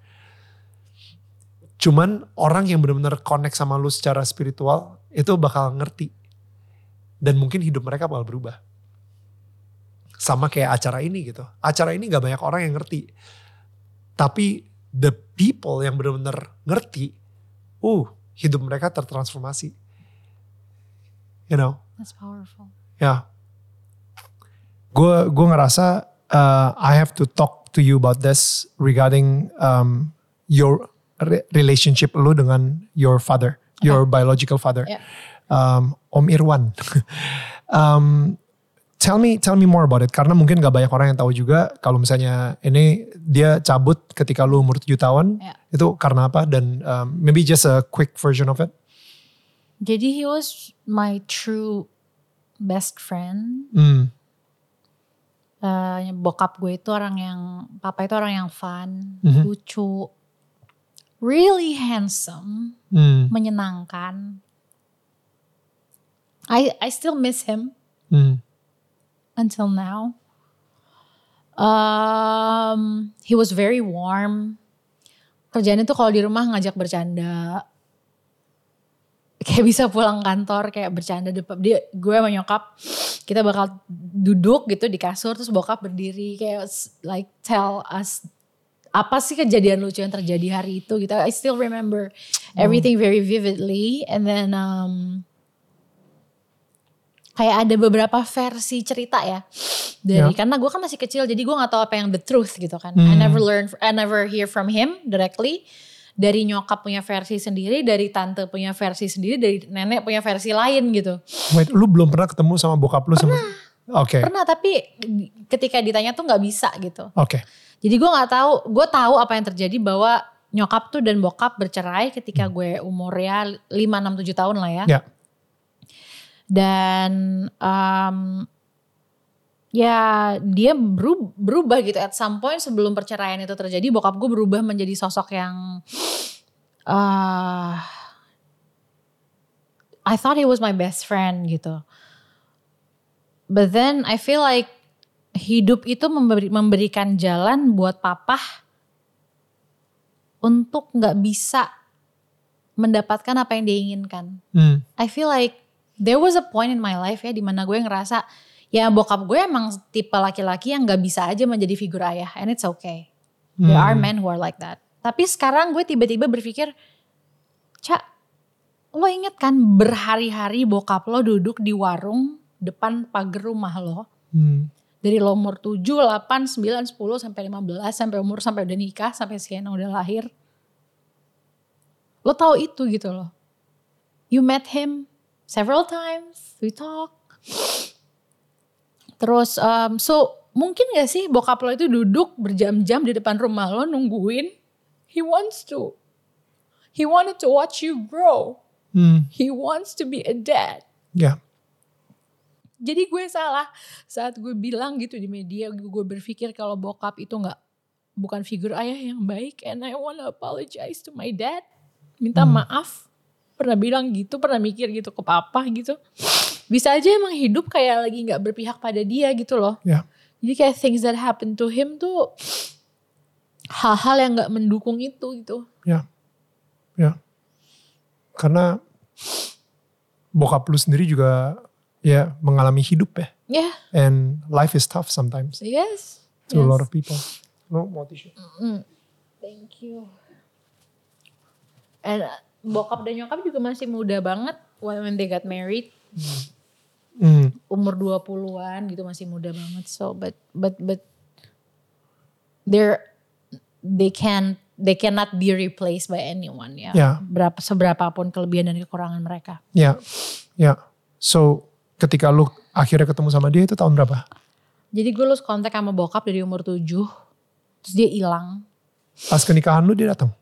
Speaker 1: Cuman orang yang benar-benar connect sama lu secara spiritual, itu bakal ngerti. Dan mungkin hidup mereka bakal berubah. Sama kayak acara ini gitu. Acara ini gak banyak orang yang ngerti. Tapi the people yang benar-benar ngerti, uh, hidup mereka tertransformasi. You know?
Speaker 2: That's powerful.
Speaker 1: Ya. Yeah. Gue gue ngerasa uh, I have to talk to you about this regarding um, your re- relationship lu dengan your father, okay. Your biological father, yeah. um, Om Irwan. um, tell me tell me more about it karena mungkin gak banyak orang yang tahu juga kalau misalnya ini dia cabut ketika lu umur tujuh tahun, yeah. Itu karena apa dan um, maybe just a quick version of it.
Speaker 2: Jadi he was my true best friend.
Speaker 1: Hmm.
Speaker 2: Uh, bokap gue itu orang yang, papa itu orang yang fun,
Speaker 1: mm-hmm.
Speaker 2: lucu, really handsome,
Speaker 1: mm.
Speaker 2: menyenangkan. I I still miss him
Speaker 1: mm.
Speaker 2: until now. Um, he was very warm. Kerjaannya tuh kalau di rumah ngajak bercanda. Kayak bisa pulang kantor kayak bercanda depan dia, gue sama nyokap kita bakal duduk gitu di kasur terus bokap berdiri kayak like tell us apa sih kejadian lucu yang terjadi hari itu gitu. I still remember everything very vividly and then um, kayak ada beberapa versi cerita ya dari yeah. Karena gue kan masih kecil jadi gue nggak tahu apa yang the truth gitu kan. Hmm. I never learn, I never hear from him directly. Dari nyokap punya versi sendiri, dari tante punya versi sendiri, dari nenek punya versi lain gitu.
Speaker 1: Wait, lu belum pernah ketemu sama bokap lu?
Speaker 2: Pernah.
Speaker 1: Sama... Oke. Okay.
Speaker 2: Pernah, tapi ketika ditanya tuh gak bisa gitu.
Speaker 1: Oke. Okay.
Speaker 2: Jadi gue gak tahu, gue tahu apa yang terjadi bahwa nyokap tuh dan bokap bercerai ketika hmm. gue umurnya lima, enam, tujuh tahun lah ya.
Speaker 1: Ya.
Speaker 2: Dan um, ya dia berubah, berubah gitu at some point sebelum perceraian itu terjadi bokap gue berubah menjadi sosok yang uh, I thought he was my best friend gitu, but then I feel like hidup itu memberi, memberikan jalan buat papa untuk gak bisa mendapatkan apa yang dia inginkan. hmm. I feel like there was a point in my life ya dimana gue ngerasa Ya bokap gue emang tipe laki-laki yang gak bisa aja menjadi figur ayah. And it's okay. There
Speaker 1: Hmm.
Speaker 2: are men who are like that. Tapi sekarang gue tiba-tiba berpikir, Cak, lo inget kan berhari-hari bokap lo duduk di warung depan pagar rumah lo.
Speaker 1: Hmm.
Speaker 2: Dari lo umur tujuh, delapan, sembilan, sepuluh, sampai lima belas, sampai umur sampai udah nikah, sampai Sienna udah lahir. Lo tahu itu gitu loh. You met him several times, we talk. Terus um, so mungkin gak sih bokap lo itu duduk berjam-jam di depan rumah lo nungguin. He wants to. He wanted to watch you grow.
Speaker 1: Hmm.
Speaker 2: He wants to be a dad.
Speaker 1: Ya. Yeah.
Speaker 2: Jadi gue salah saat gue bilang gitu di media. Gue berpikir kalau bokap itu gak, bukan figur ayah yang baik. And I wanna apologize to my dad. Minta hmm. maaf. Pernah bilang gitu, pernah mikir gitu ke papa gitu. Bisa aja emang hidup kayak lagi gak berpihak pada dia gitu loh.
Speaker 1: Yeah.
Speaker 2: Jadi kayak things that happen to him tuh hal-hal yang gak mendukung itu gitu.
Speaker 1: Ya. Ya. Karena bokap lu sendiri juga ya mengalami hidup ya.
Speaker 2: Yeah.
Speaker 1: And life is tough sometimes.
Speaker 2: Yes.
Speaker 1: To
Speaker 2: yes.
Speaker 1: a lot of people. No, mau tisu.
Speaker 2: Mm-hmm. Thank you. And bokap dan nyokap juga masih muda banget when they got married.
Speaker 1: Hmm. Mm.
Speaker 2: Umur dua puluhan gitu masih muda banget. So but but but they're they can they cannot be replaced by anyone ya.
Speaker 1: Yeah.
Speaker 2: Berapa seberapapun kelebihan dan kekurangan mereka.
Speaker 1: Ya. Yeah. Ya. Yeah. So ketika lu akhirnya ketemu sama dia itu tahun berapa?
Speaker 2: Jadi gue lose kontak sama bokap dari umur tujuh. Terus dia hilang.
Speaker 1: Pas ke nikahan lu dia datang?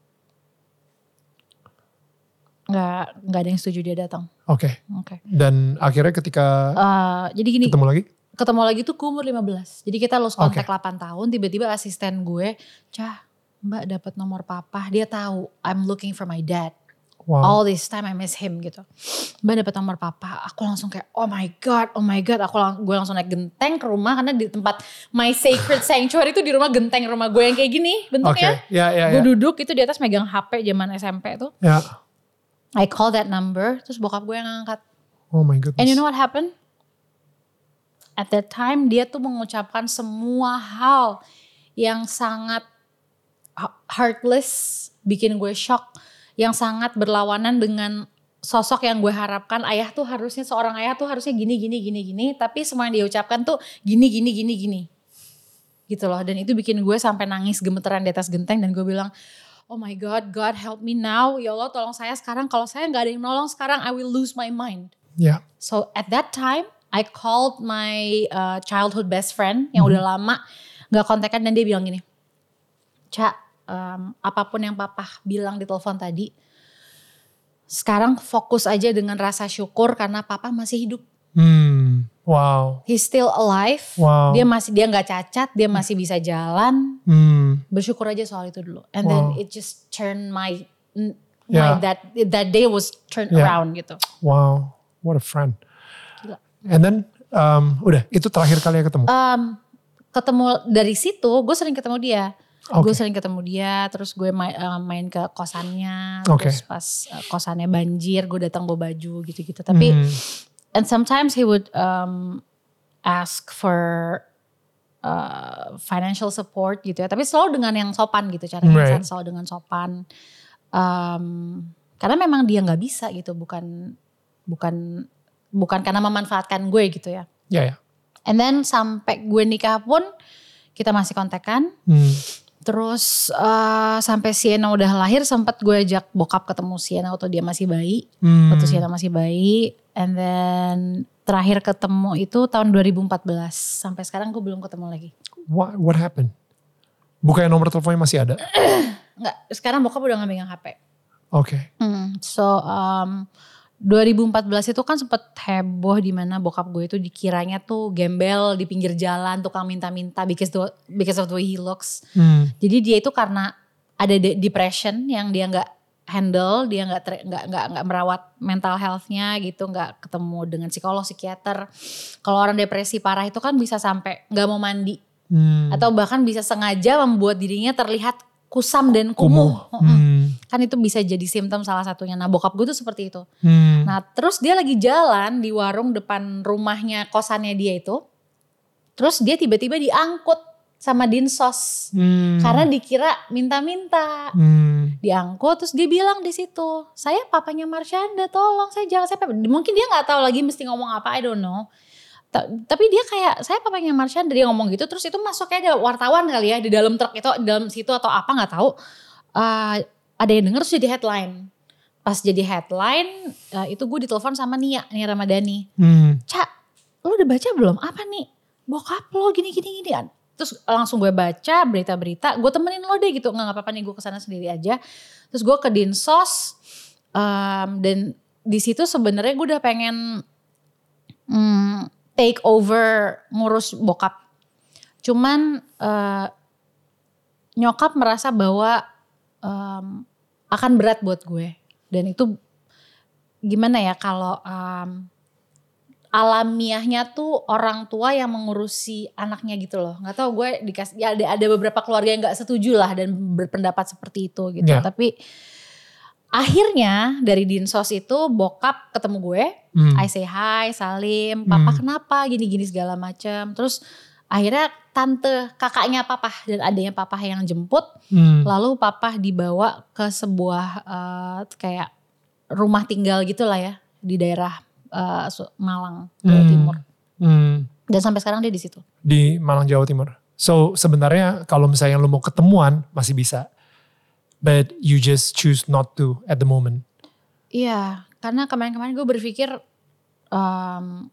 Speaker 2: Nggak, nggak ada yang setuju dia datang.
Speaker 1: Oke. Okay.
Speaker 2: Oke. Okay.
Speaker 1: Dan akhirnya ketika
Speaker 2: uh, jadi gini,
Speaker 1: ketemu lagi?
Speaker 2: Ketemu lagi tuh gue umur lima belas. Jadi kita lose kontak
Speaker 1: okay.
Speaker 2: delapan tahun. Tiba-tiba asisten gue, Cah, Mbak dapat nomor papa. Dia tahu I'm looking for my dad.
Speaker 1: Wow.
Speaker 2: All this time I miss him gitu. Mbak dapat nomor papa. Aku langsung kayak oh my god, oh my god. Aku lang- gue langsung naik genteng ke rumah karena di tempat my sacred sanctuary itu di rumah genteng rumah gue yang kayak gini bentuknya.
Speaker 1: Okay. Yeah, yeah,
Speaker 2: gue
Speaker 1: yeah.
Speaker 2: duduk itu di atas megang H P zaman S M P tuh.
Speaker 1: Ya. Yeah.
Speaker 2: I call that number, terus bokap gue yang ngangkat.
Speaker 1: Oh my goodness.
Speaker 2: And you know what happened? At that time dia tuh mengucapkan semua hal yang sangat heartless, bikin gue shock, yang sangat berlawanan dengan sosok yang gue harapkan. Ayah tuh harusnya, seorang ayah tuh harusnya gini, gini, gini, gini. Tapi semua yang dia ucapkan tuh gini, gini, gini, gini. Gitu loh. Dan itu bikin gue sampai nangis gemeteran di atas genteng. Dan gue bilang, oh my God, God help me now. Ya Allah tolong saya sekarang. Kalau saya gak ada yang nolong sekarang, I will lose my mind.
Speaker 1: Yeah.
Speaker 2: So at that time, I called my uh, childhood best friend yang mm-hmm. udah lama gak kontekan. Dan dia bilang gini, Cak, um, apapun yang papa bilang di telepon tadi, sekarang fokus aja dengan rasa syukur karena papa masih hidup.
Speaker 1: Hmm, wow.
Speaker 2: He's still alive.
Speaker 1: Wow.
Speaker 2: Dia masih dia nggak cacat, dia masih bisa jalan.
Speaker 1: Hmm.
Speaker 2: Bersyukur aja soal itu dulu. And
Speaker 1: wow.
Speaker 2: then it just turned my, my
Speaker 1: yeah.
Speaker 2: that that day was turned
Speaker 1: yeah.
Speaker 2: around gitu.
Speaker 1: Wow, what a friend.
Speaker 2: Gila.
Speaker 1: And then um, udah itu terakhir kali ya ketemu.
Speaker 2: Um, ketemu dari situ, gue sering ketemu dia.
Speaker 1: Okay.
Speaker 2: Gue sering ketemu dia, terus gue main, uh, main ke kosannya,
Speaker 1: okay.
Speaker 2: terus pas uh, kosannya banjir, gue datang bawa baju gitu-gitu. Tapi
Speaker 1: hmm.
Speaker 2: and sometimes he would um, ask for uh, financial support gitu ya. Tapi selalu dengan yang sopan gitu caranya, right. selalu dengan sopan. Um, karena memang dia nggak bisa gitu, bukan bukan bukan karena memanfaatkan gue gitu ya.
Speaker 1: Ya yeah, ya. Yeah.
Speaker 2: And then sampai gue nikah pun kita masih kontekan.
Speaker 1: Hmm.
Speaker 2: Terus uh, sampai Sienna udah lahir sempat gue ajak bokap ketemu Sienna waktu dia masih bayi.
Speaker 1: Hmm.
Speaker 2: Waktu Sienna masih bayi. And then terakhir ketemu itu tahun dua ribu empat belas. Sampai sekarang gue belum ketemu lagi.
Speaker 1: What, what happened? Bukannya nomor teleponnya masih ada?
Speaker 2: Enggak, sekarang bokap udah gak megang H P.
Speaker 1: Oke. Okay.
Speaker 2: Hmm, so um, dua ribu empat belas itu kan sempet heboh di mana bokap gue itu dikiranya tuh gembel di pinggir jalan, tukang minta-minta because the, because of the way he looks.
Speaker 1: Hmm.
Speaker 2: Jadi dia itu karena ada de- depression yang dia nggak handle, dia nggak nggak nggak nggak merawat mental healthnya gitu, nggak ketemu dengan psikolog, psikiater. Kalau orang depresi parah itu kan bisa sampai nggak mau mandi, hmm. atau bahkan bisa sengaja membuat dirinya terlihat kusam dan kumuh. kumuh. Hmm. Kan itu bisa jadi simptom salah satunya. Nah bokap gue tuh seperti itu. Hmm. Nah terus dia lagi jalan di warung depan rumahnya, kosannya dia itu. Terus dia tiba-tiba diangkut sama dinsos
Speaker 1: Hmm.
Speaker 2: karena dikira minta-minta.
Speaker 1: Hmm.
Speaker 2: Diangkut terus dia bilang di situ, saya papanya Marshanda, tolong saya jangan saya. Mungkin dia nggak tahu lagi mesti ngomong apa, I don't know. Tapi dia kayak saya papanya Marshanda, dia ngomong gitu. Terus itu masuk kayak ada wartawan kali ya di dalam truk itu, di dalam situ atau apa nggak tahu. Uh, ada yang denger terus jadi headline. Pas jadi headline uh, itu gue ditelepon sama Nia, Nia Ramadhani.
Speaker 1: Hmm.
Speaker 2: Cak, lo udah baca belum? Apa nih? Bokap lo gini-gini gini. Terus langsung gue baca berita-berita, gue temenin lo deh gitu, nggak apa-apa nih gue kesana sendiri aja. Terus gue ke Dinsos um, dan di situ sebenarnya gue udah pengen um, take over ngurus bokap. Cuman uh, nyokap merasa bahwa um, akan berat buat gue dan itu gimana ya kalau um, alamiahnya tuh orang tua yang mengurusi anaknya gitu loh. Gak tau gue dikasih, ya ada, ada beberapa keluarga yang gak setuju lah dan berpendapat seperti itu gitu. Yeah. Tapi akhirnya dari Dinsos itu bokap ketemu gue. Hmm. I say hi, salim, papa hmm. kenapa gini-gini segala macam. Terus akhirnya tante kakaknya papa dan adanya papa yang jemput. Hmm. Lalu papa dibawa ke sebuah uh, kayak rumah tinggal gitu lah ya di daerah Uh, Malang, Jawa hmm. Timur. Hmm. Dan sampai sekarang dia di situ.
Speaker 1: Di Malang, Jawa Timur. So sebenarnya kalau misalnya lu mau ketemuan masih bisa. But you just choose not to at the moment.
Speaker 2: Iya, karena kemarin-kemarin gue berpikir, um,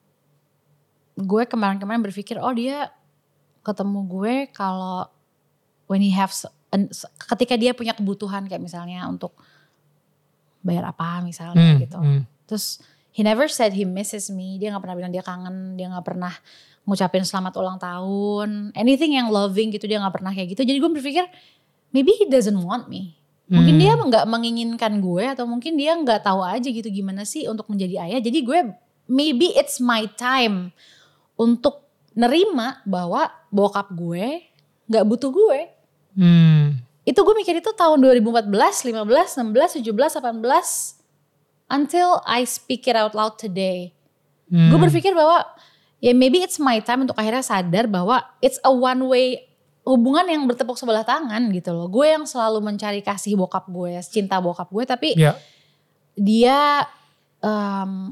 Speaker 2: gue kemarin-kemarin berpikir, oh dia ketemu gue kalau when he have, ketika dia punya kebutuhan kayak misalnya untuk bayar apa misalnya hmm. gitu. Hmm. Terus he never said he misses me. Dia gak pernah bilang dia kangen. Dia gak pernah ngucapin selamat ulang tahun. Anything yang loving gitu dia gak pernah kayak gitu. Jadi gue berpikir maybe he doesn't want me. Mungkin hmm. dia gak menginginkan gue. Atau mungkin dia gak tahu aja gitu gimana sih untuk menjadi ayah. Jadi gue maybe it's my time untuk nerima bahwa bokap gue gak butuh gue. Hmm. Itu gue mikir itu tahun dua ribu empat belas, lima belas, enam belas, tujuh belas, delapan belas. Until I speak it out loud today. Hmm. Gue berpikir bahwa ya maybe it's my time untuk akhirnya sadar bahwa it's a one way hubungan yang bertepuk sebelah tangan gitu loh. Gue yang selalu mencari kasih bokap gue, cinta bokap gue. Tapi yeah. dia, um,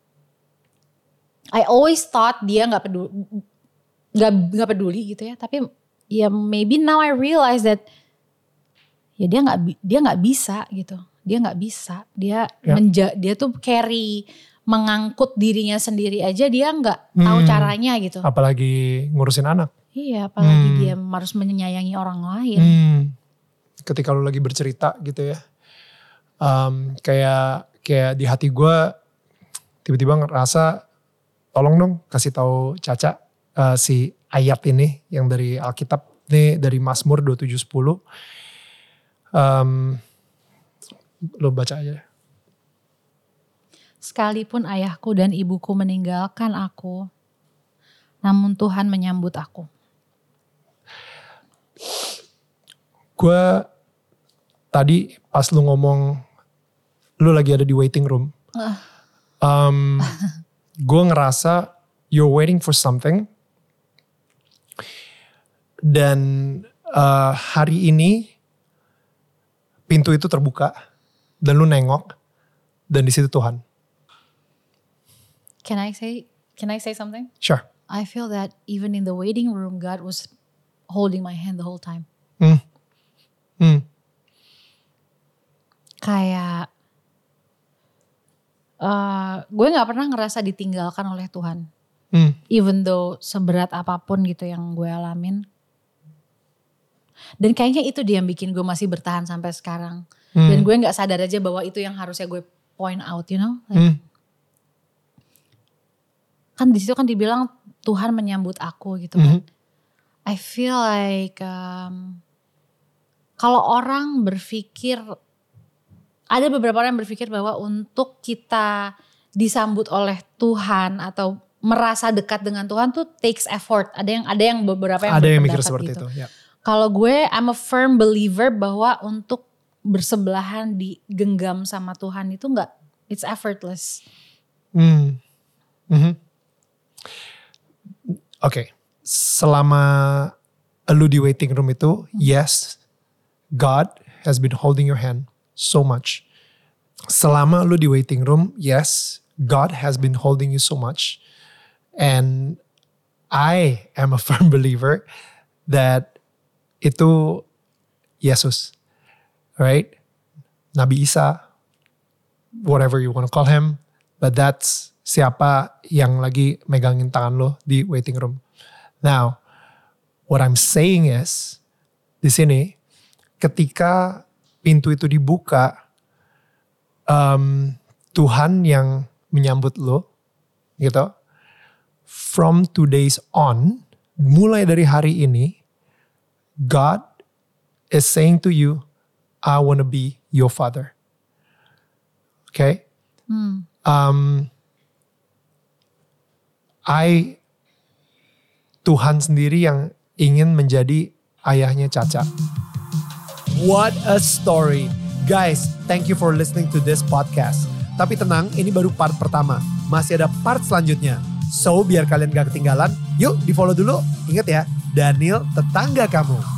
Speaker 2: I always thought dia gak peduli, gak, gak peduli gitu ya. Tapi ya maybe now I realize that ya dia gak, dia gak bisa gitu. Dia nggak bisa, dia ya. menja, dia tuh carry, mengangkut dirinya sendiri aja dia nggak hmm. tahu caranya gitu.
Speaker 1: Apalagi ngurusin anak.
Speaker 2: Iya, apalagi hmm. dia harus menyayangi orang lain.
Speaker 1: Hmm. Ketika lu lagi bercerita gitu ya, um, kayak kayak di hati gue tiba-tiba ngerasa, tolong dong kasih tahu Caca uh, si ayat ini yang dari Alkitab nih dari Mazmur dua puluh tujuh sepuluh. Um, Lo baca aja.
Speaker 2: Sekalipun ayahku dan ibuku meninggalkan aku, namun Tuhan menyambut aku.
Speaker 1: Gue tadi pas lu ngomong, lu lagi ada di waiting room. Uh. Um, gue ngerasa you're waiting for something. Dan uh, hari ini pintu itu terbuka. Dan lu nengok, dan di situ Tuhan.
Speaker 2: Can I say, can I say something?
Speaker 1: Sure.
Speaker 2: I feel that even in the waiting room, God was holding my hand the whole time.
Speaker 1: Hmm. Hmm.
Speaker 2: Kayak, uh, gue nggak pernah ngerasa ditinggalkan oleh Tuhan. Hmm. Even though seberat apapun gitu yang gue alamin. Dan kayaknya itu dia yang bikin gue masih bertahan sampai sekarang. Hmm. Dan gue gak sadar aja bahwa itu yang harusnya gue point out, you know. Like, hmm. Kan di situ kan dibilang Tuhan menyambut aku gitu kan. Hmm. I feel like um, kalau orang berpikir, ada beberapa orang yang berpikir bahwa untuk kita disambut oleh Tuhan atau merasa dekat dengan Tuhan tuh takes effort. Ada yang ada yang beberapa yang
Speaker 1: ada yang mikir seperti gitu. Itu. Ya.
Speaker 2: Kalau gue, I'm a firm believer bahwa untuk bersebelahan digenggam sama Tuhan itu enggak, it's effortless.
Speaker 1: Hmm. Mm-hmm. Oke, okay. selama lu di waiting room itu, yes, God has been holding your hand so much. Selama lu di waiting room, yes, God has been holding you so much. And I am a firm believer that itu Yesus, right? Nabi Isa, whatever you want to call him, but that's siapa yang lagi megangin tangan lo di waiting room. Now, what I'm saying is, di sini, ketika pintu itu dibuka, um, Tuhan yang menyambut lo, gitu. From today's on, mulai dari hari ini, God is saying to you, I want to be your father. Okay?
Speaker 2: Hmm.
Speaker 1: Um, I, Tuhan sendiri yang ingin menjadi ayahnya Caca. What a story. Guys, thank you for listening to this podcast. Tapi tenang, ini baru part pertama. Masih ada part selanjutnya. So, biar kalian gak ketinggalan, yuk di follow dulu. Ingat ya, Daniel tetangga kamu.